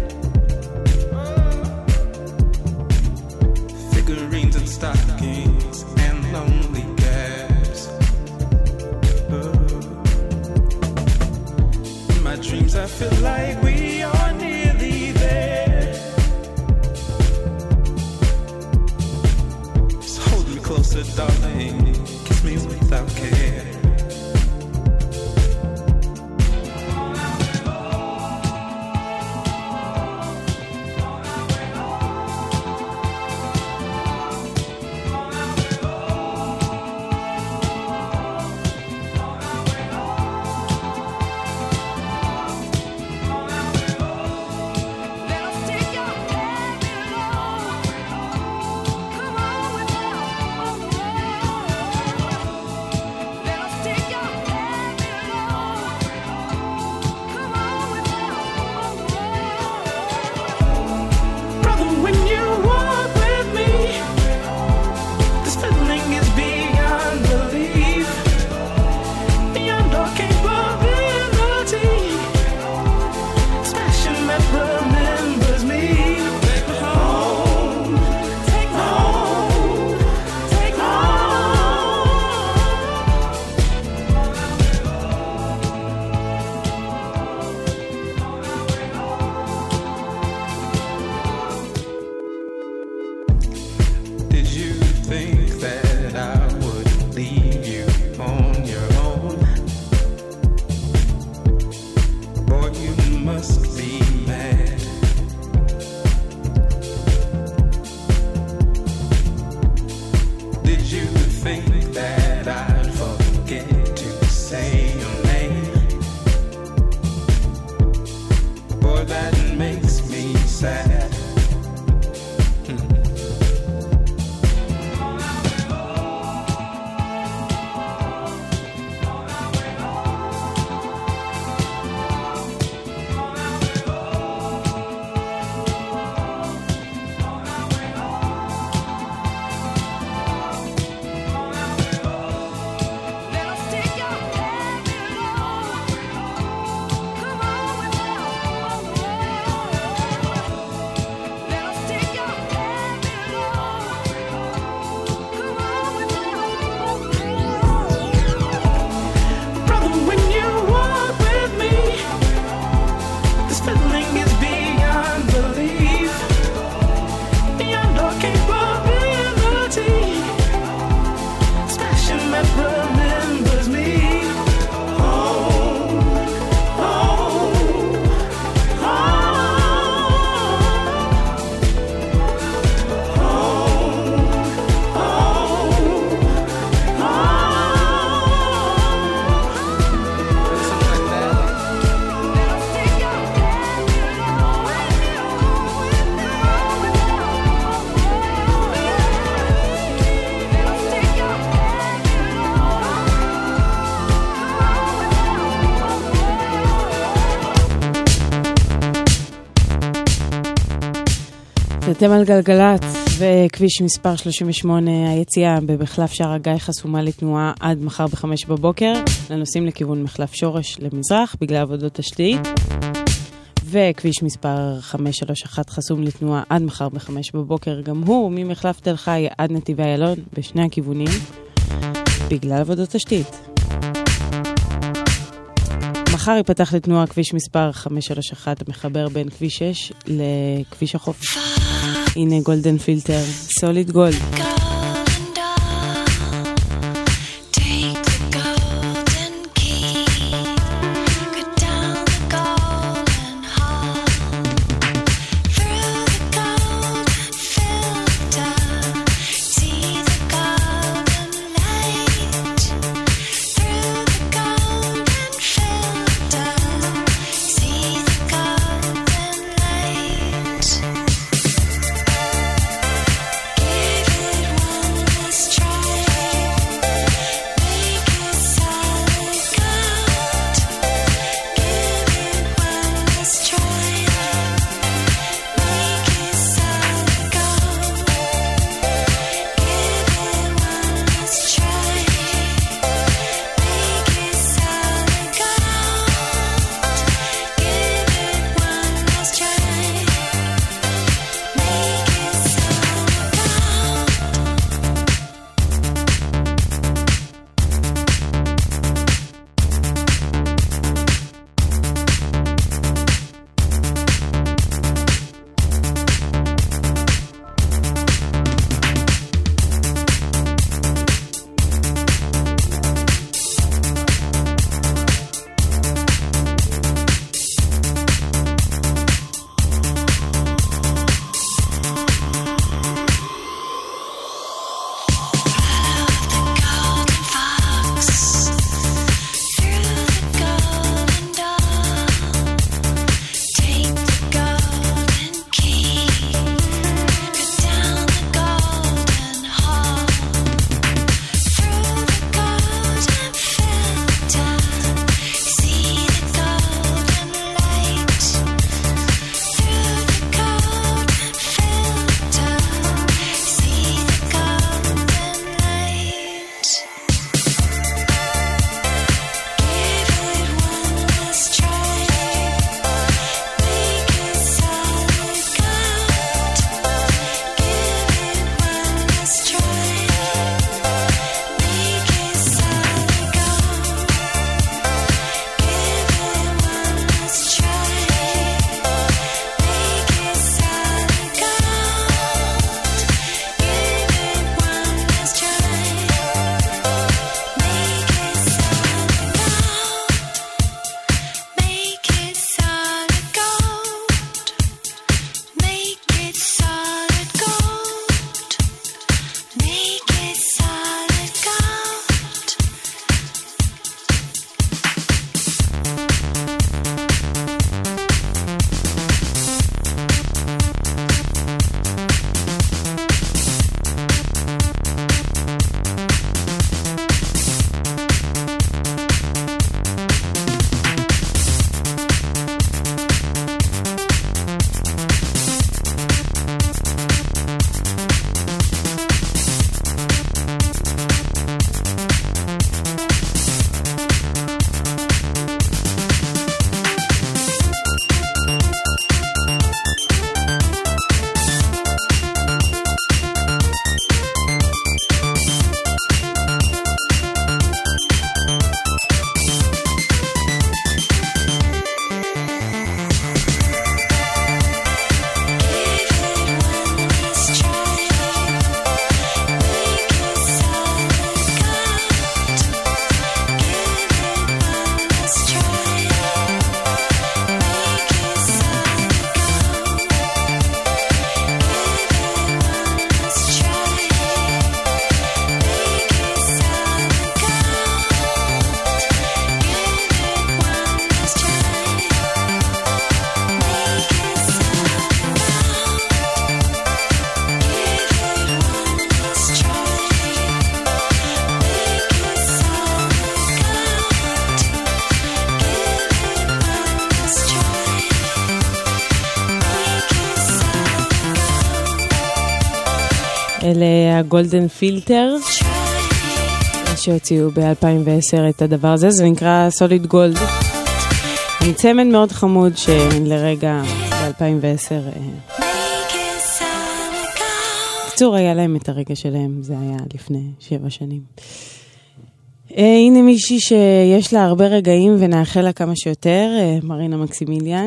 figurines and stockings and lonely gaps. Oh. In my dreams I feel like we are nearly there. Just hold me closer, darling, kiss me without care. אתם על גלגלת, וכביש מספר שלושים ושמונה, היציאה במחלף שער הגיא חסומה לתנועה עד מחר בחמש בבוקר, לנוסעים לכיוון מחלף שורש למזרח בגלל עבודות תשתית, וכביש מספר חמש שלוש אחת חסום לתנועה עד מחר בחמש בבוקר, גם הוא ממחלף תל חי עד נתיבי איילון בשני הכיוונים בגלל עבודות תשתית. מחר ייפתח לתנועה כביש מספר חמש שלוש אחת המחבר בין כביש שש לכביש החוף. הנה גולדן פילטר, סוליד גולד. אלה הגולדן פילטר שהוציאו ב-אלפיים ועשר את הדבר הזה, זה נקרא סוליד גולד. עם צמד מאוד חמוד שלרגע ב-אלפיים ועשר קצור היה להם את הרגע שלהם, זה היה לפני שבע שנים. הנה מישהי שיש לה הרבה רגעים ונאחל לה כמה שיותר, מרינה מקסימיליאן.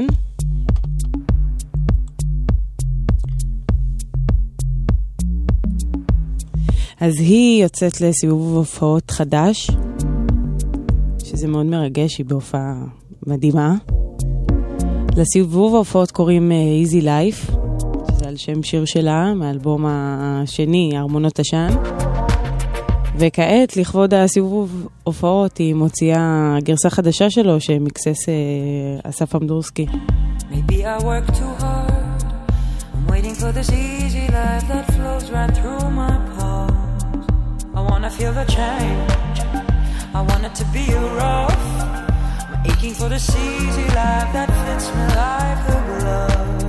אז היא יוצאת לסיבוב הופעות חדש, שזה מאוד מרגש, היא בהופעה מדהימה. לסיבוב ההופעות קוראים Easy Life, שזה על שם שיר שלה, מהאלבום השני, ארמונות עשן. וכעת, לכבוד הסיבוב הופעות, היא מוציאה גרסה חדשה שלו, שמקסס אסף אמדורסקי. Maybe I work too hard. I'm waiting for this easy life that flows right through my pulse. I wanna feel the change. I want it to be rough. I'm aching for this easy life that fits me like a glove.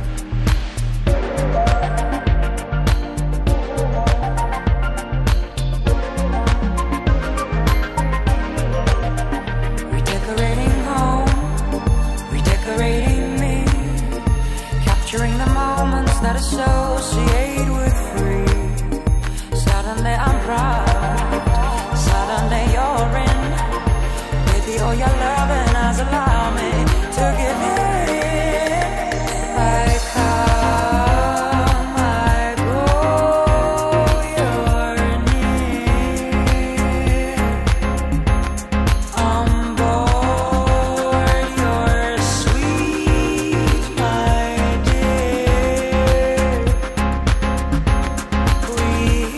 Redecorating home, redecorating me, capturing the moments that associate with free. Suddenly I'm proud, suddenly you're in. Baby, all your loving has allowed me to give it in. I come, I go, you're near. On board, you're sweet, my dear. We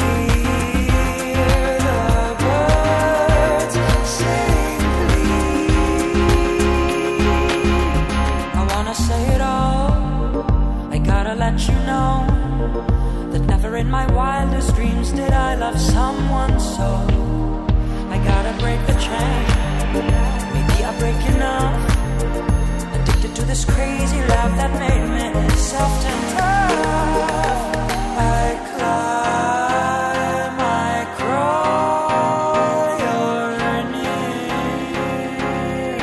in my wildest dreams did I love someone so. I gotta break the chain. Maybe I break enough. Addicted to this crazy love that made me soft and tough. I climb, I crawl, you're near.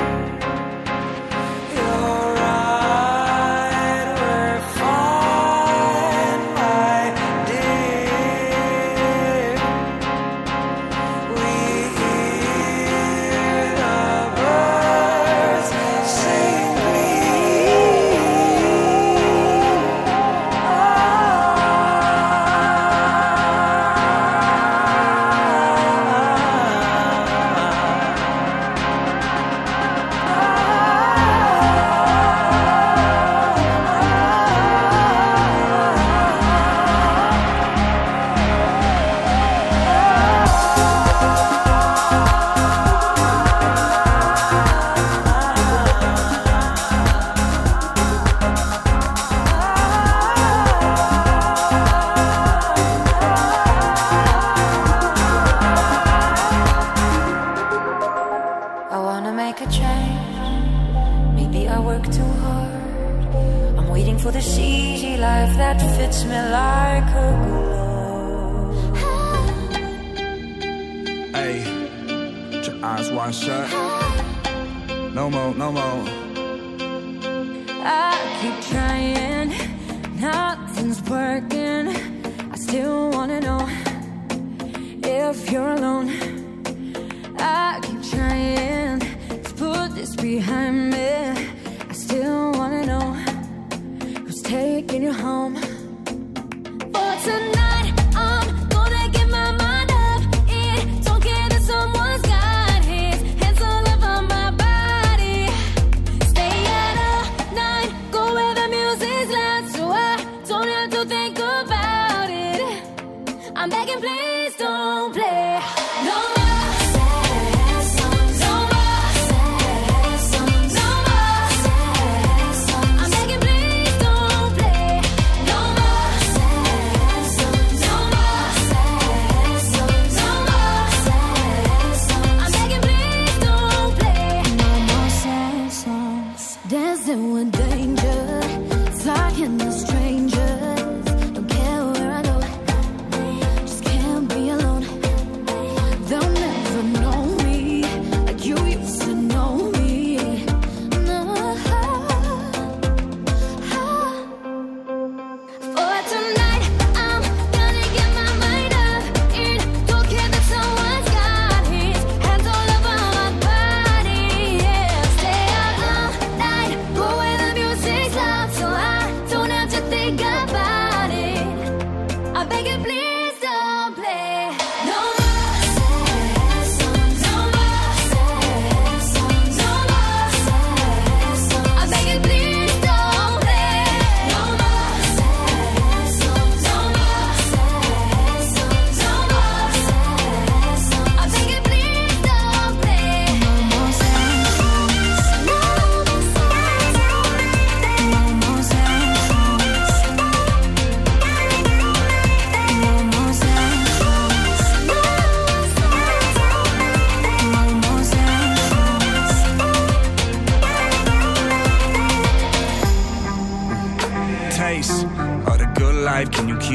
You're right, we're fine, my dear. We hear the birds sing I wanna make a change. Maybe I work too hard. I'm waiting for this easy life that fits me like a glove. Hey, put your eyes wide shut. No more, no more. I keep trying, nothing's working. I still wanna know if you're alone. I keep trying to put this behind me. I still wanna know who's taking you home. For tonight, I'm gonna get my mind up. It don't care that someone's got his hands all over my body. Stay out all night, go where the music's loud, so I don't have to think about it. I'm begging, please don't play no more. Dancing with danger, talking to strangers. Don't care where I go.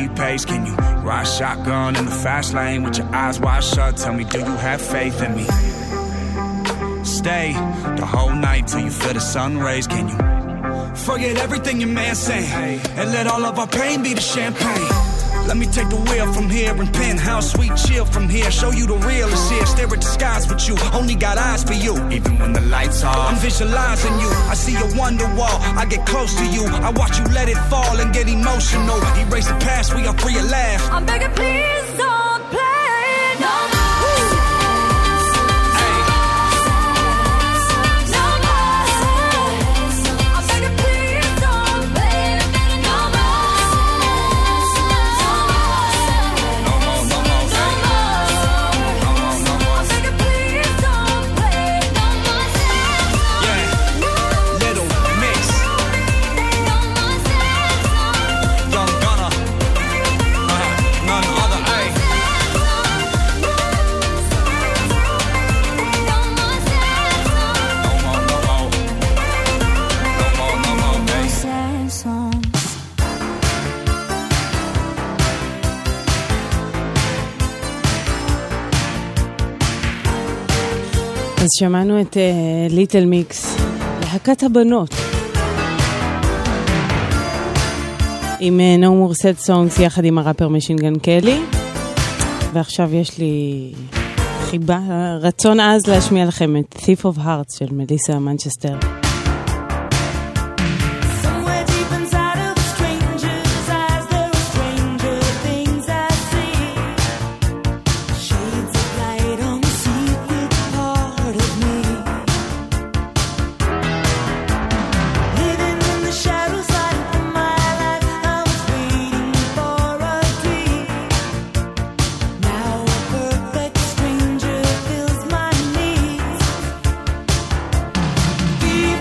steady pace. Can you ride shotgun in the fast lane with your eyes wide shut? Tell me, do you have faith in me? Stay the whole night till you feel the sun rays. Can you forget everything your man saying and let all of our pain be the champagne? Let me take the wheel from here and penthouse sweet chill from here. Show you the real is here. Stare at the skies with you. Only got eyes for you. Even when the lights are, I'm visualizing you. I see your wonder wall. I get close to you. I watch you let it fall and get emotional. Erase the past. We are free at last. I'm begging, please don't play no more. אז שמענו את ליטל מיקס, להקת הבנות, עם No More Sad Songs יחד עם הראפר משין גן קלי. ועכשיו יש לי חיבה, רצון אז להשמיע לכם את Thief of Hearts של מליסה מנצ'סטר. Thief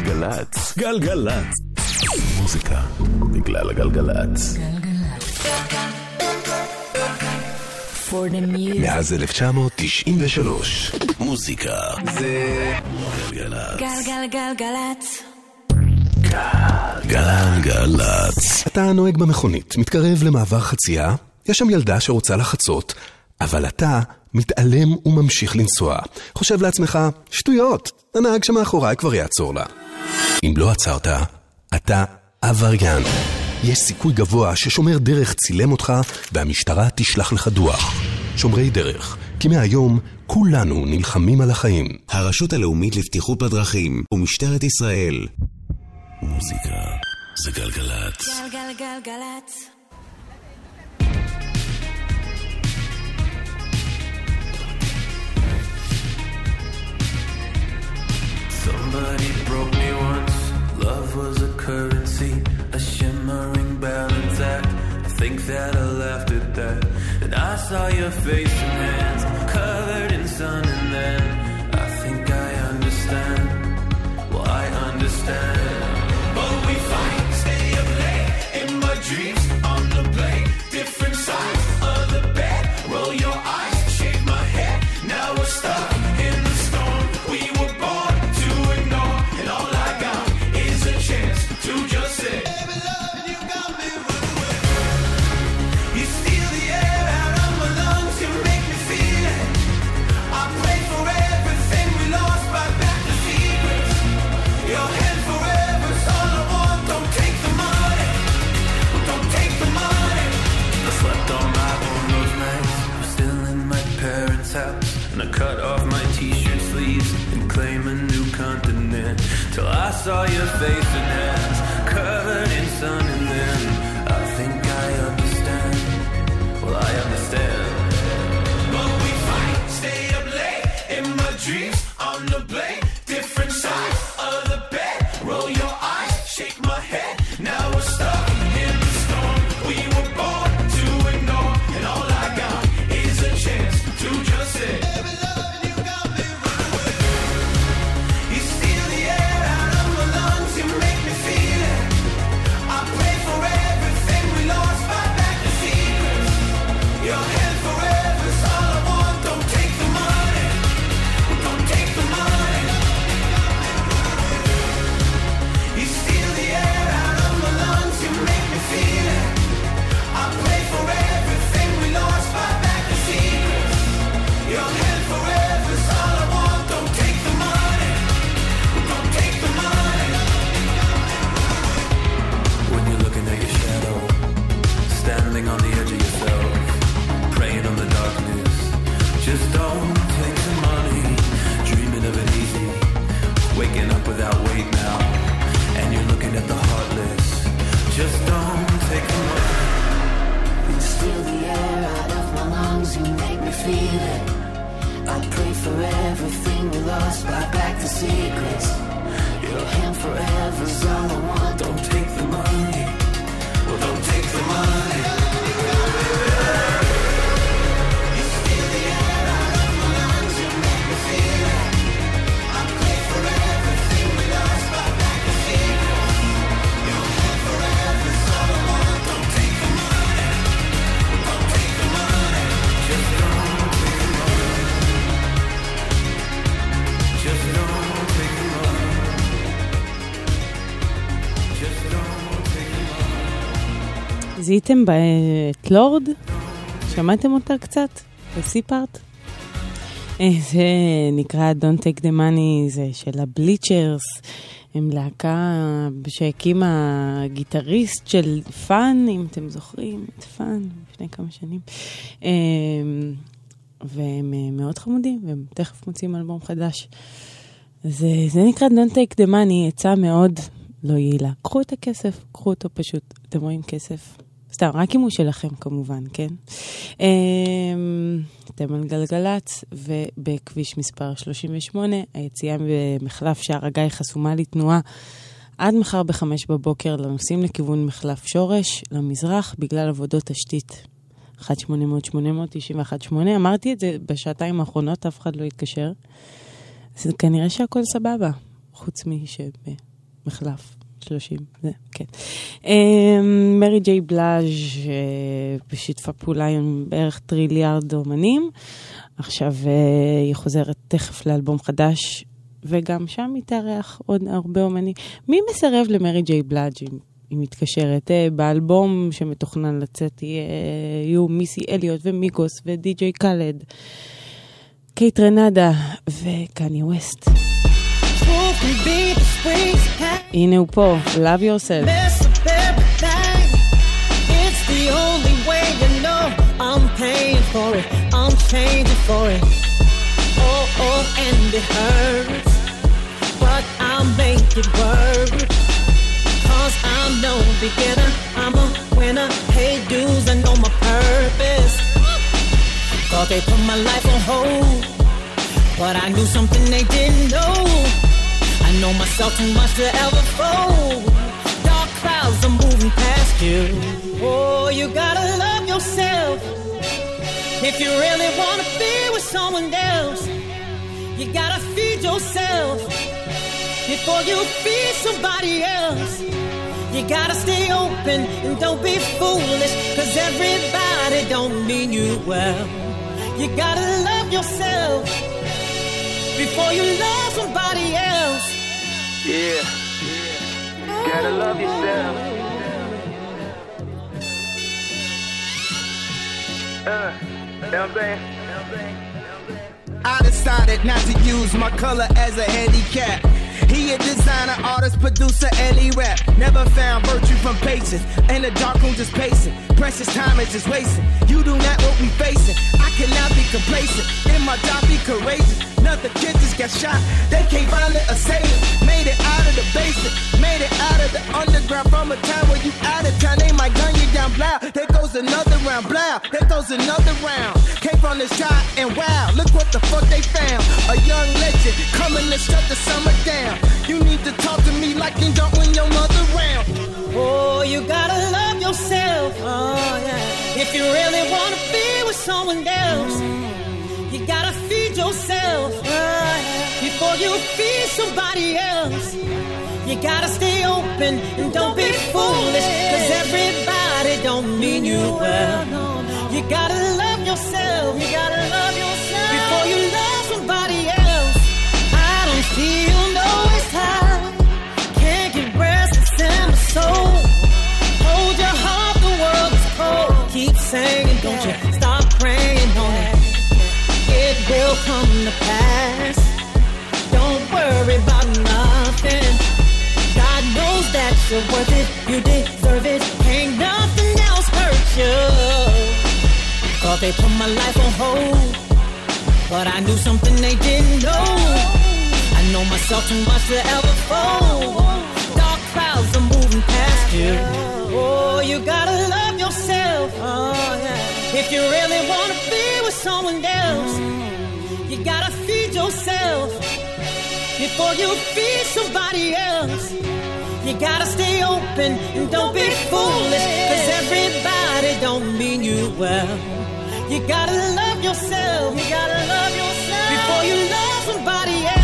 גלגלצ. גלגלצ. מוזיקה בגלל הגלגלצ. מאז אלף תשע מאות תשעים ושלוש. מוזיקה זה גלגלצ. גלגלגלגלצ. גלגלצ. אתה נוהג במכונית, מתקרב למעבר חצייה, יש שם ילדה שרוצה לחצות, אבל אתה מתעלם וממשיך לנסוע. חושב לעצמך, שטויות, הנהג שמאחוריי כבר יעצור לה. אם לא עצרת, אתה עבריין. יש סיכוי גבוה ששומר דרך צילם אותך והמשטרה תשלח לך דוח. שומרי דרך, כי מהיום כולנו נלחמים על החיים. הרשות הלאומית לבטיחות בדרכים ומשטרת ישראל. מוזיקה זה גלגלצ. גלגלגלגלצ. Somebody broke me once. Love was a currency, a shimmering balance act. I think that I laughed at that. And I saw your face and hands covered in sun, and then I think I understand. Well, I understand. But we fight, stay up late in my dreams on the blade. Different sides of the bed. Roll your eyes, shake my head. Now we're stuck in the storm. We were born to ignore, and all I got is a chance to just say, baby, love, you got me running away. You steal the air out of my lungs, you make me feel it. I pray for everything we lost, right back to secrets. Your hand forever's all I want. Don't take the money, don't take the money. I slept on my own those nights. I'm still in my parents' house, and I cut off my t-shirt sleeves and claim a new continent. Till I saw your face and hands covered in sun, and then I think I understand. Well, I understand. But we fight, stay up late in my dreams on the blade. Different sides of the bed. Roll your eyes, shake my head. Now we're stuck in the storm. We were born to ignore, and all I got is a chance to just say, baby, love, you got me running away. You steal the air out of my lungs, you make me feel it. I pray for everything we lost, fight back the secrets. Your hand forever's all I want. Don't take the money, don't take the money. You steal the air out of my lungs, you make me feel it. I pray for everything we lost, fight back the secrets. Your hand forever's all I want. Don't take the money, don't take the money. When you're looking at your shadow, standing on the edge of yourself, praying on the darkness, just don't take the money. Dreaming of it easy, waking up without weight now, and you're looking at the heartless. Just don't take the money. You steal the air out of my lungs, you make me feel it. I pray for everything we lost, buy back the secrets. Your hand forever's all I want. Don't take the money, well, don't take the money. You steal the air out of my lungs, you make me feel it. I pray for everything we lost, buy back the secrets. Your hand forever's all I want. Don't take the money, don't take the money. Just don't take the money. Just don't take the money. Just don't take the money. זיהיתם את לורד? שמעתם אותה קצת? בסיפארט? זה נקרא Don't Take the Money, זה של הבליצ'רס. הם להקה שהקימה גיטריסט של פאן, אם אתם זוכרים, את פאן, לפני כמה שנים. והם מאוד חמודים, והם תכף מוצאים אלבום חדש. זה, זה נקרא Don't Take the Money, עצה מאוד לא יעילה. קחו את הכסף, קחו אותו פשוט. אתם רואים כסף? סתם, רק אם הוא שלכם כמובן, כן? אתם על גלגלץ, ובכביש מספר שלושים ושמונה, היציאה במחלף שער הגיא חסומה לתנועה עד מחר בחמש בבוקר לנוסעים לכיוון מחלף שורש, למזרח, בגלל עבודות תשתית. אחת שמונה אפס אפס שמונה תשע אחת שמונה, אמרתי את זה בשעתיים האחרונות, אף אחד לא התקשר. אז כנראה שהכל סבבה, חוץ משב... מחלף. שלושים, זה, כן. מרי ג'יי בלאז' בשיתפה פעולה עם בערך טריליארד אומנים. עכשיו היא חוזרת תכף לאלבום חדש, וגם שם היא תארח עוד הרבה אומנים. מי מסרב למרי ג'יי בלאז' היא מתקשרת? באלבום שמתוכנן לצאת יהיו מיסי אליוט ומיגוס ודי-ג'יי קלד, קייט רנדה וקני ווסט. הנה הוא פה, Love Yourself. It's the only way you know I'm paying for it, I'm changing for it. Oh, oh, and it hurts, but I'll make it work. Cause I'm no beginner, I'm a winner. Pay dues, I know my purpose. Thought they put my life on hold, but I knew something they didn't know. I know myself too much to ever fold. Dark clouds are moving past you. Oh, you gotta love yourself. If you really wanna be with someone else, you gotta feed yourself before you feed somebody else. You gotta stay open and don't be foolish, cause everybody don't mean you well. You gotta love yourself before you love somebody else. Yeah, gotta love yourself. Uh, you know what I'm saying? I decided not to use my color as a handicap. He a designer, artist, producer, and he rap. Never found virtue from patience. In the dark room just pacing. Precious time is just wasting. You do not what we facing. I cannot be complacent. In my job, be courageous. Another kid just got shot. They can't find the assailant. Made it out of the basement. Made it out of the underground. From a time where you out of town, they might gun you down. Blow. There goes another round. Blow. There goes another round. Came from the sky and wow, look what the fuck they found. A young legend coming to shut the summer down. You need to talk to me like you don't when your mother round. Oh, you gotta love yourself. Oh, yeah. If you really wanna be with someone else, you gotta feed yourself oh, yeah. before you feed somebody else. You gotta stay open and don't be foolish, cause everybody don't mean you well. You gotta love yourself. You gotta love yourself before you love somebody else. I don't feel no waste time. Can't get rest, it's in my soul. Hold your heart, the world is cold. Keep singing, don't you stop praying on it. It will come to pass. Don't worry about nothing. God knows that you're worth it. You deserve it. Ain't nothing else hurt you. Thought they put my life on hold, but I knew something they didn't know. I know myself too much to ever fold. Dark clouds are moving past you. Oh, you gotta love yourself. Oh, yeah. If you really wanna be with someone else, you gotta feed yourself before you feed somebody else. You gotta stay open and don't be foolish, cause everybody don't mean you well. You gotta love yourself. You gotta love yourself before you love somebody else.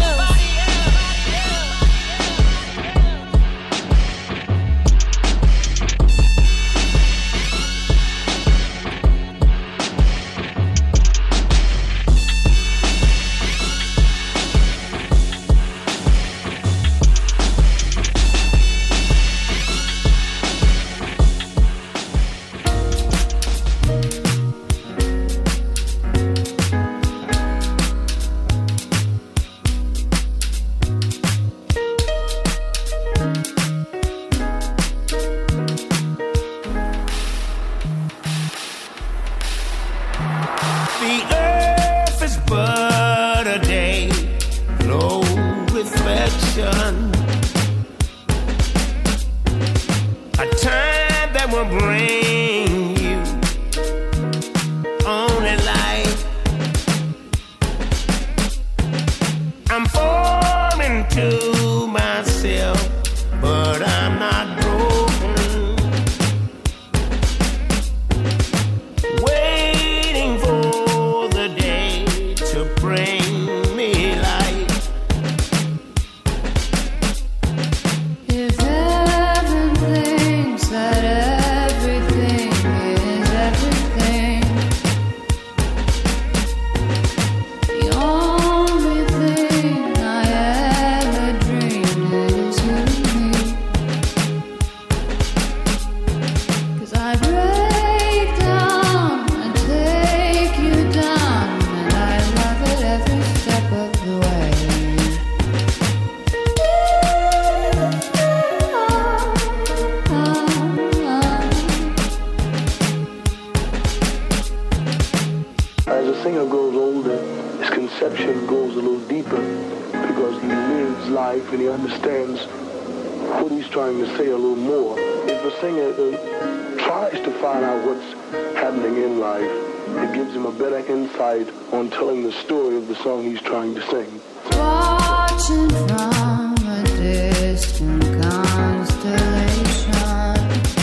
he's trying to say a little more. If the singer uh, tries to find out what's happening in life, it gives him a better insight on telling the story of the song he's trying to sing. Watching from a distant constellation,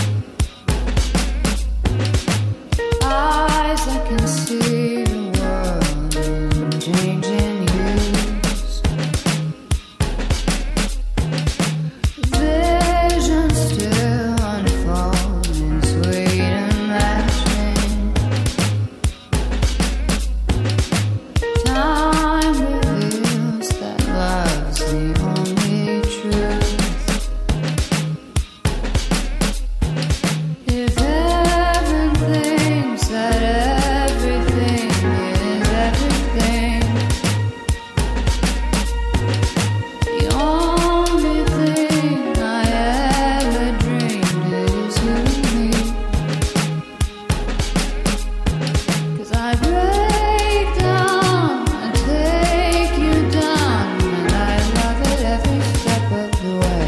eyes that can see the world in changing hues, vision still unfolding, sweet and lasting. Time reveals that love's the only truth. If heaven thinks that everything is everything, the only thing I ever dreamed is you and me. 'Cause I break down and take you down, and I love it every step of the way.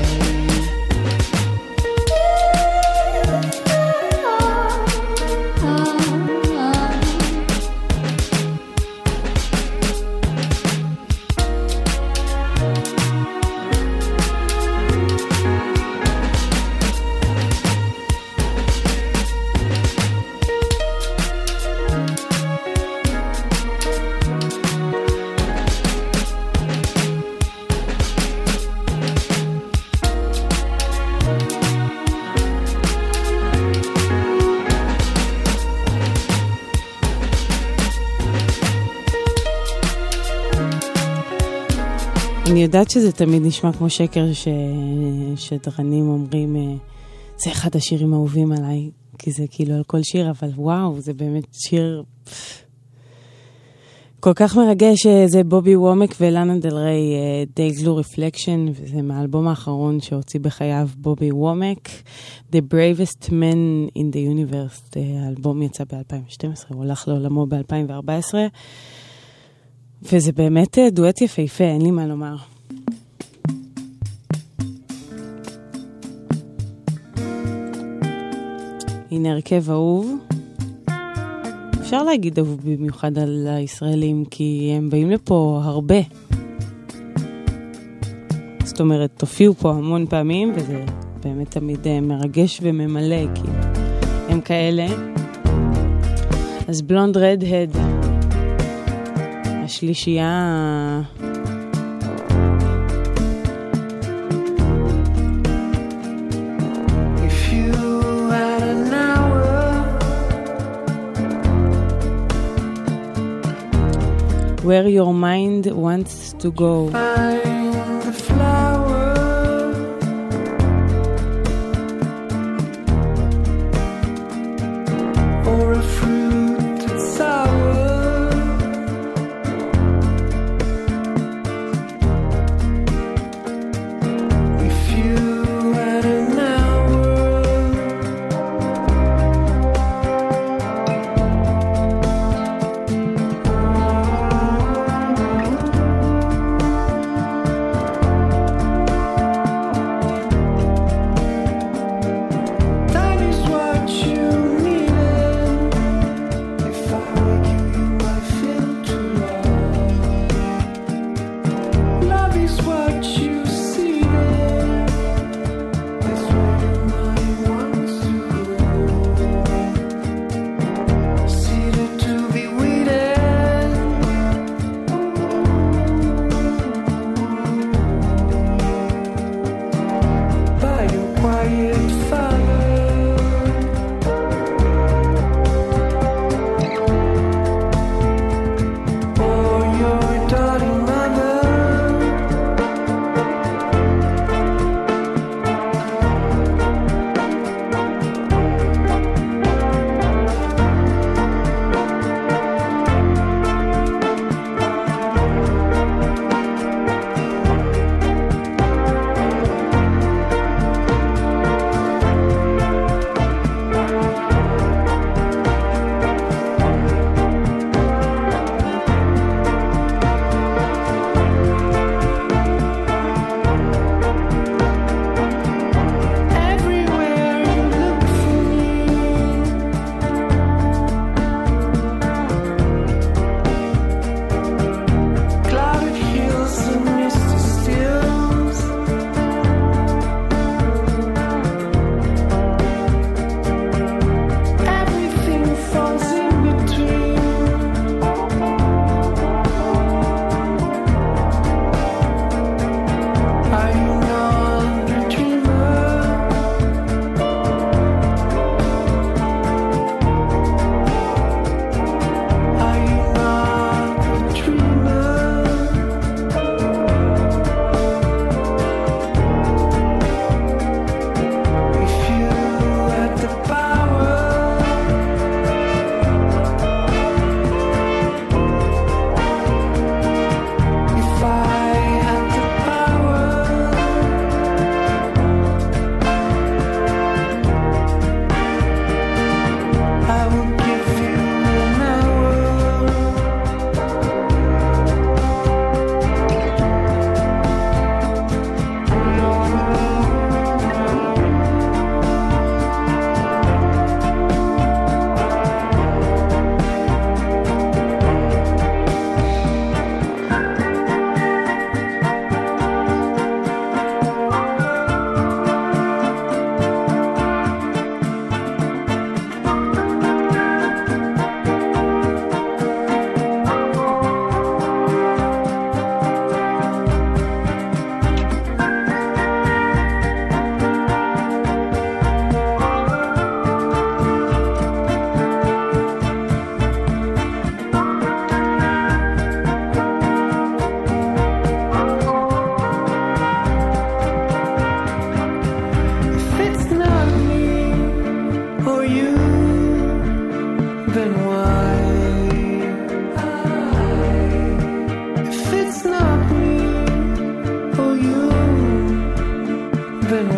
אני יודעת שזה תמיד נשמע כמו שקר ששדרנים אומרים, אה, זה אחד השירים האהובים עליי, כי זה כאילו על כל שיר, אבל וואו, זה באמת שיר כל כך מרגש. זה בובי וומק ולאנה דל ריי, They Glue Reflection, וזה מהאלבום האחרון שהוציא בחייו בובי וומק, The Bravest Man in the Universe. האלבום יצא ב-אלפיים ושתים עשרה, הוא הלך לעולמו ב-אלפיים וארבע עשרה, וזה באמת דואט יפהפה, אין לי מה לומר. הנה הרכב אהוב. אפשר להגיד אהוב במיוחד על הישראלים, כי הם באים לפה הרבה. זאת אומרת, תופיעו פה המון פעמים, וזה באמת תמיד מרגש וממלא, כי הם כאלה. אז בלונד רדהד, השלישייה Where Your Mind Wants to Go. Find the flower, or a fruit that's sour. If you had an hour, that is what you needed. If I were you, you might feel too low. Love is what you seeded. That's where your mind wants to go. Seeded to be weeded. By your quiet father, or your darling mother.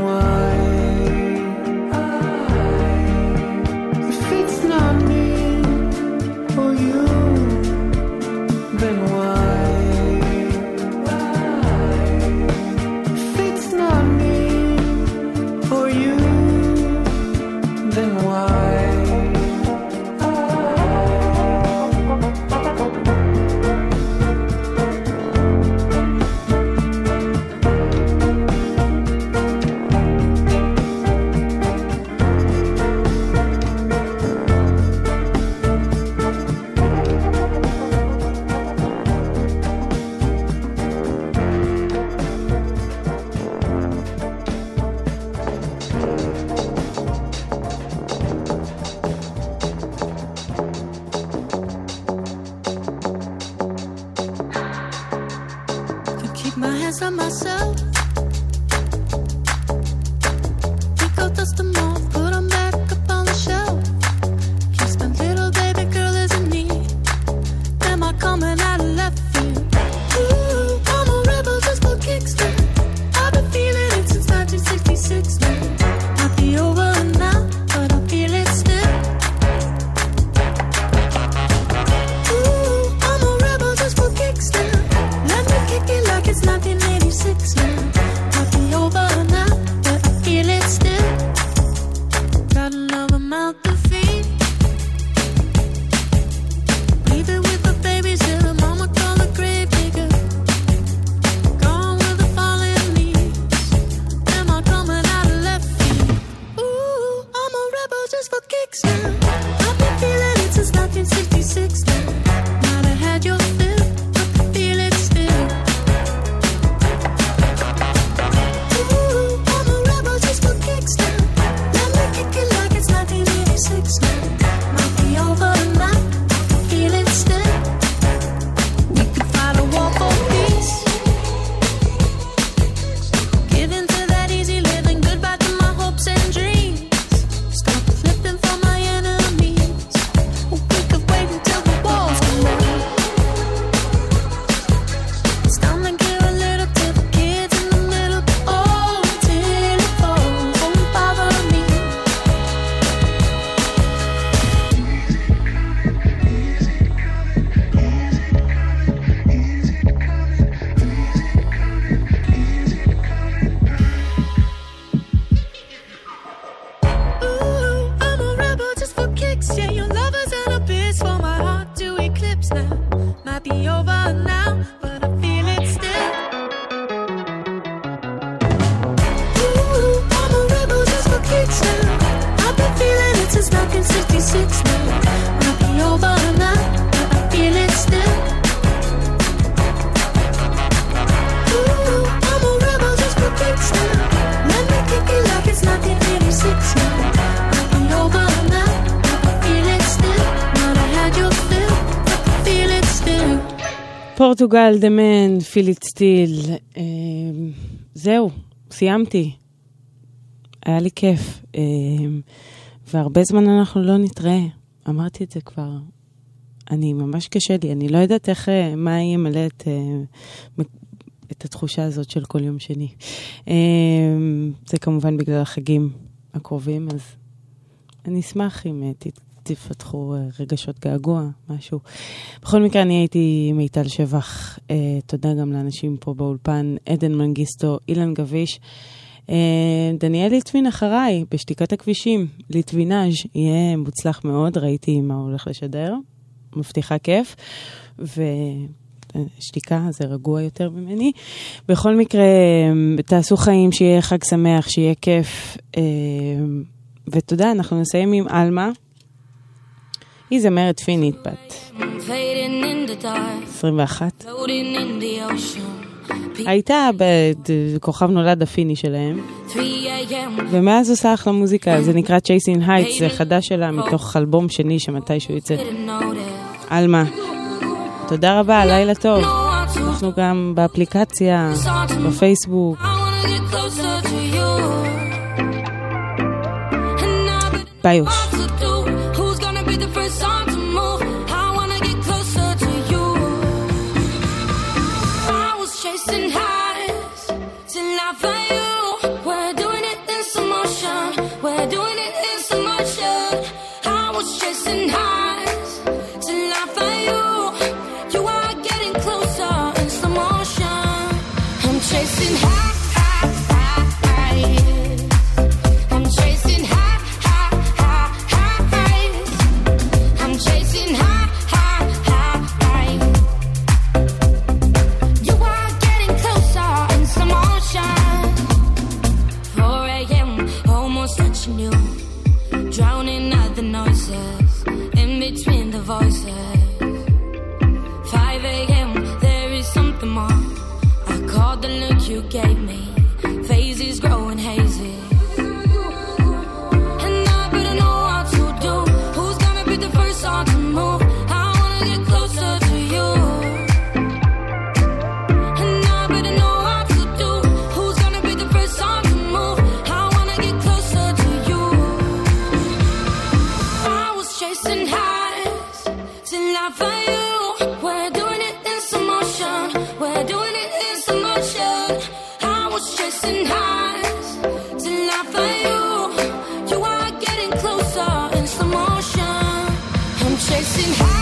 why? If it's not me or you, then why? If it's not me or you, then why? פורטוגל, The Man, Feel It Still. אה, זהו, סיימתי. היה לי כיף. אה, והרבה זמן אנחנו לא נתראה. אמרתי את זה כבר. אני ממש קשה לי. אני לא יודעת איך, מה ימלא את, אה, את התחושה הזאת של כל יום שני. אה, זה כמובן בגלל החגים הקרובים, אז אני אשמח אם תת... תפתחו רגשות געגוע, משהו. בכל מקרה, אני הייתי מיטל שבח. אה, תודה גם לאנשים פה באולפן, עדן מנגיסטו, אילן גביש. אה, דניאל ליטווין אחריי, בשתיקת הכבישים, ליטווינאז' יהיה מוצלח מאוד, ראיתי מה הולך לשדר. מבטיחה כיף. ושתיקה זה רגוע יותר ממני. בכל מקרה, תעשו חיים, שיהיה חג שמח, שיהיה כיף. אה, ותודה, אנחנו נסיים עם אלמה. היא זמרת פינית בת עשרים ואחת. הייתה בכוכב נולד הפיני שלהם, ומאז עושה אחלה מוזיקה. זה נקרא Chasing Heights, זה חדש שלה מתוך אלבום שני שמתישהו יצא. אלמה, תודה רבה, לילה טוב. אנחנו גם באפליקציה, בפייסבוק. ביוש. Chasing highs till I find you. We're doing it voices. five a.m. There is something more. I caught the look you gave me. Phases growing hazy. And I better know what to do. Who's gonna be the first one to move? I wanna get closer to you. And I better know what to do. Who's gonna be the first one to move? I wanna get closer to you. I was chasing highs till I found you. We're doing it in slow motion. We're doing it in slow motion. I was chasing highs till I found you. You are getting closer in slow motion. I'm chasing highs.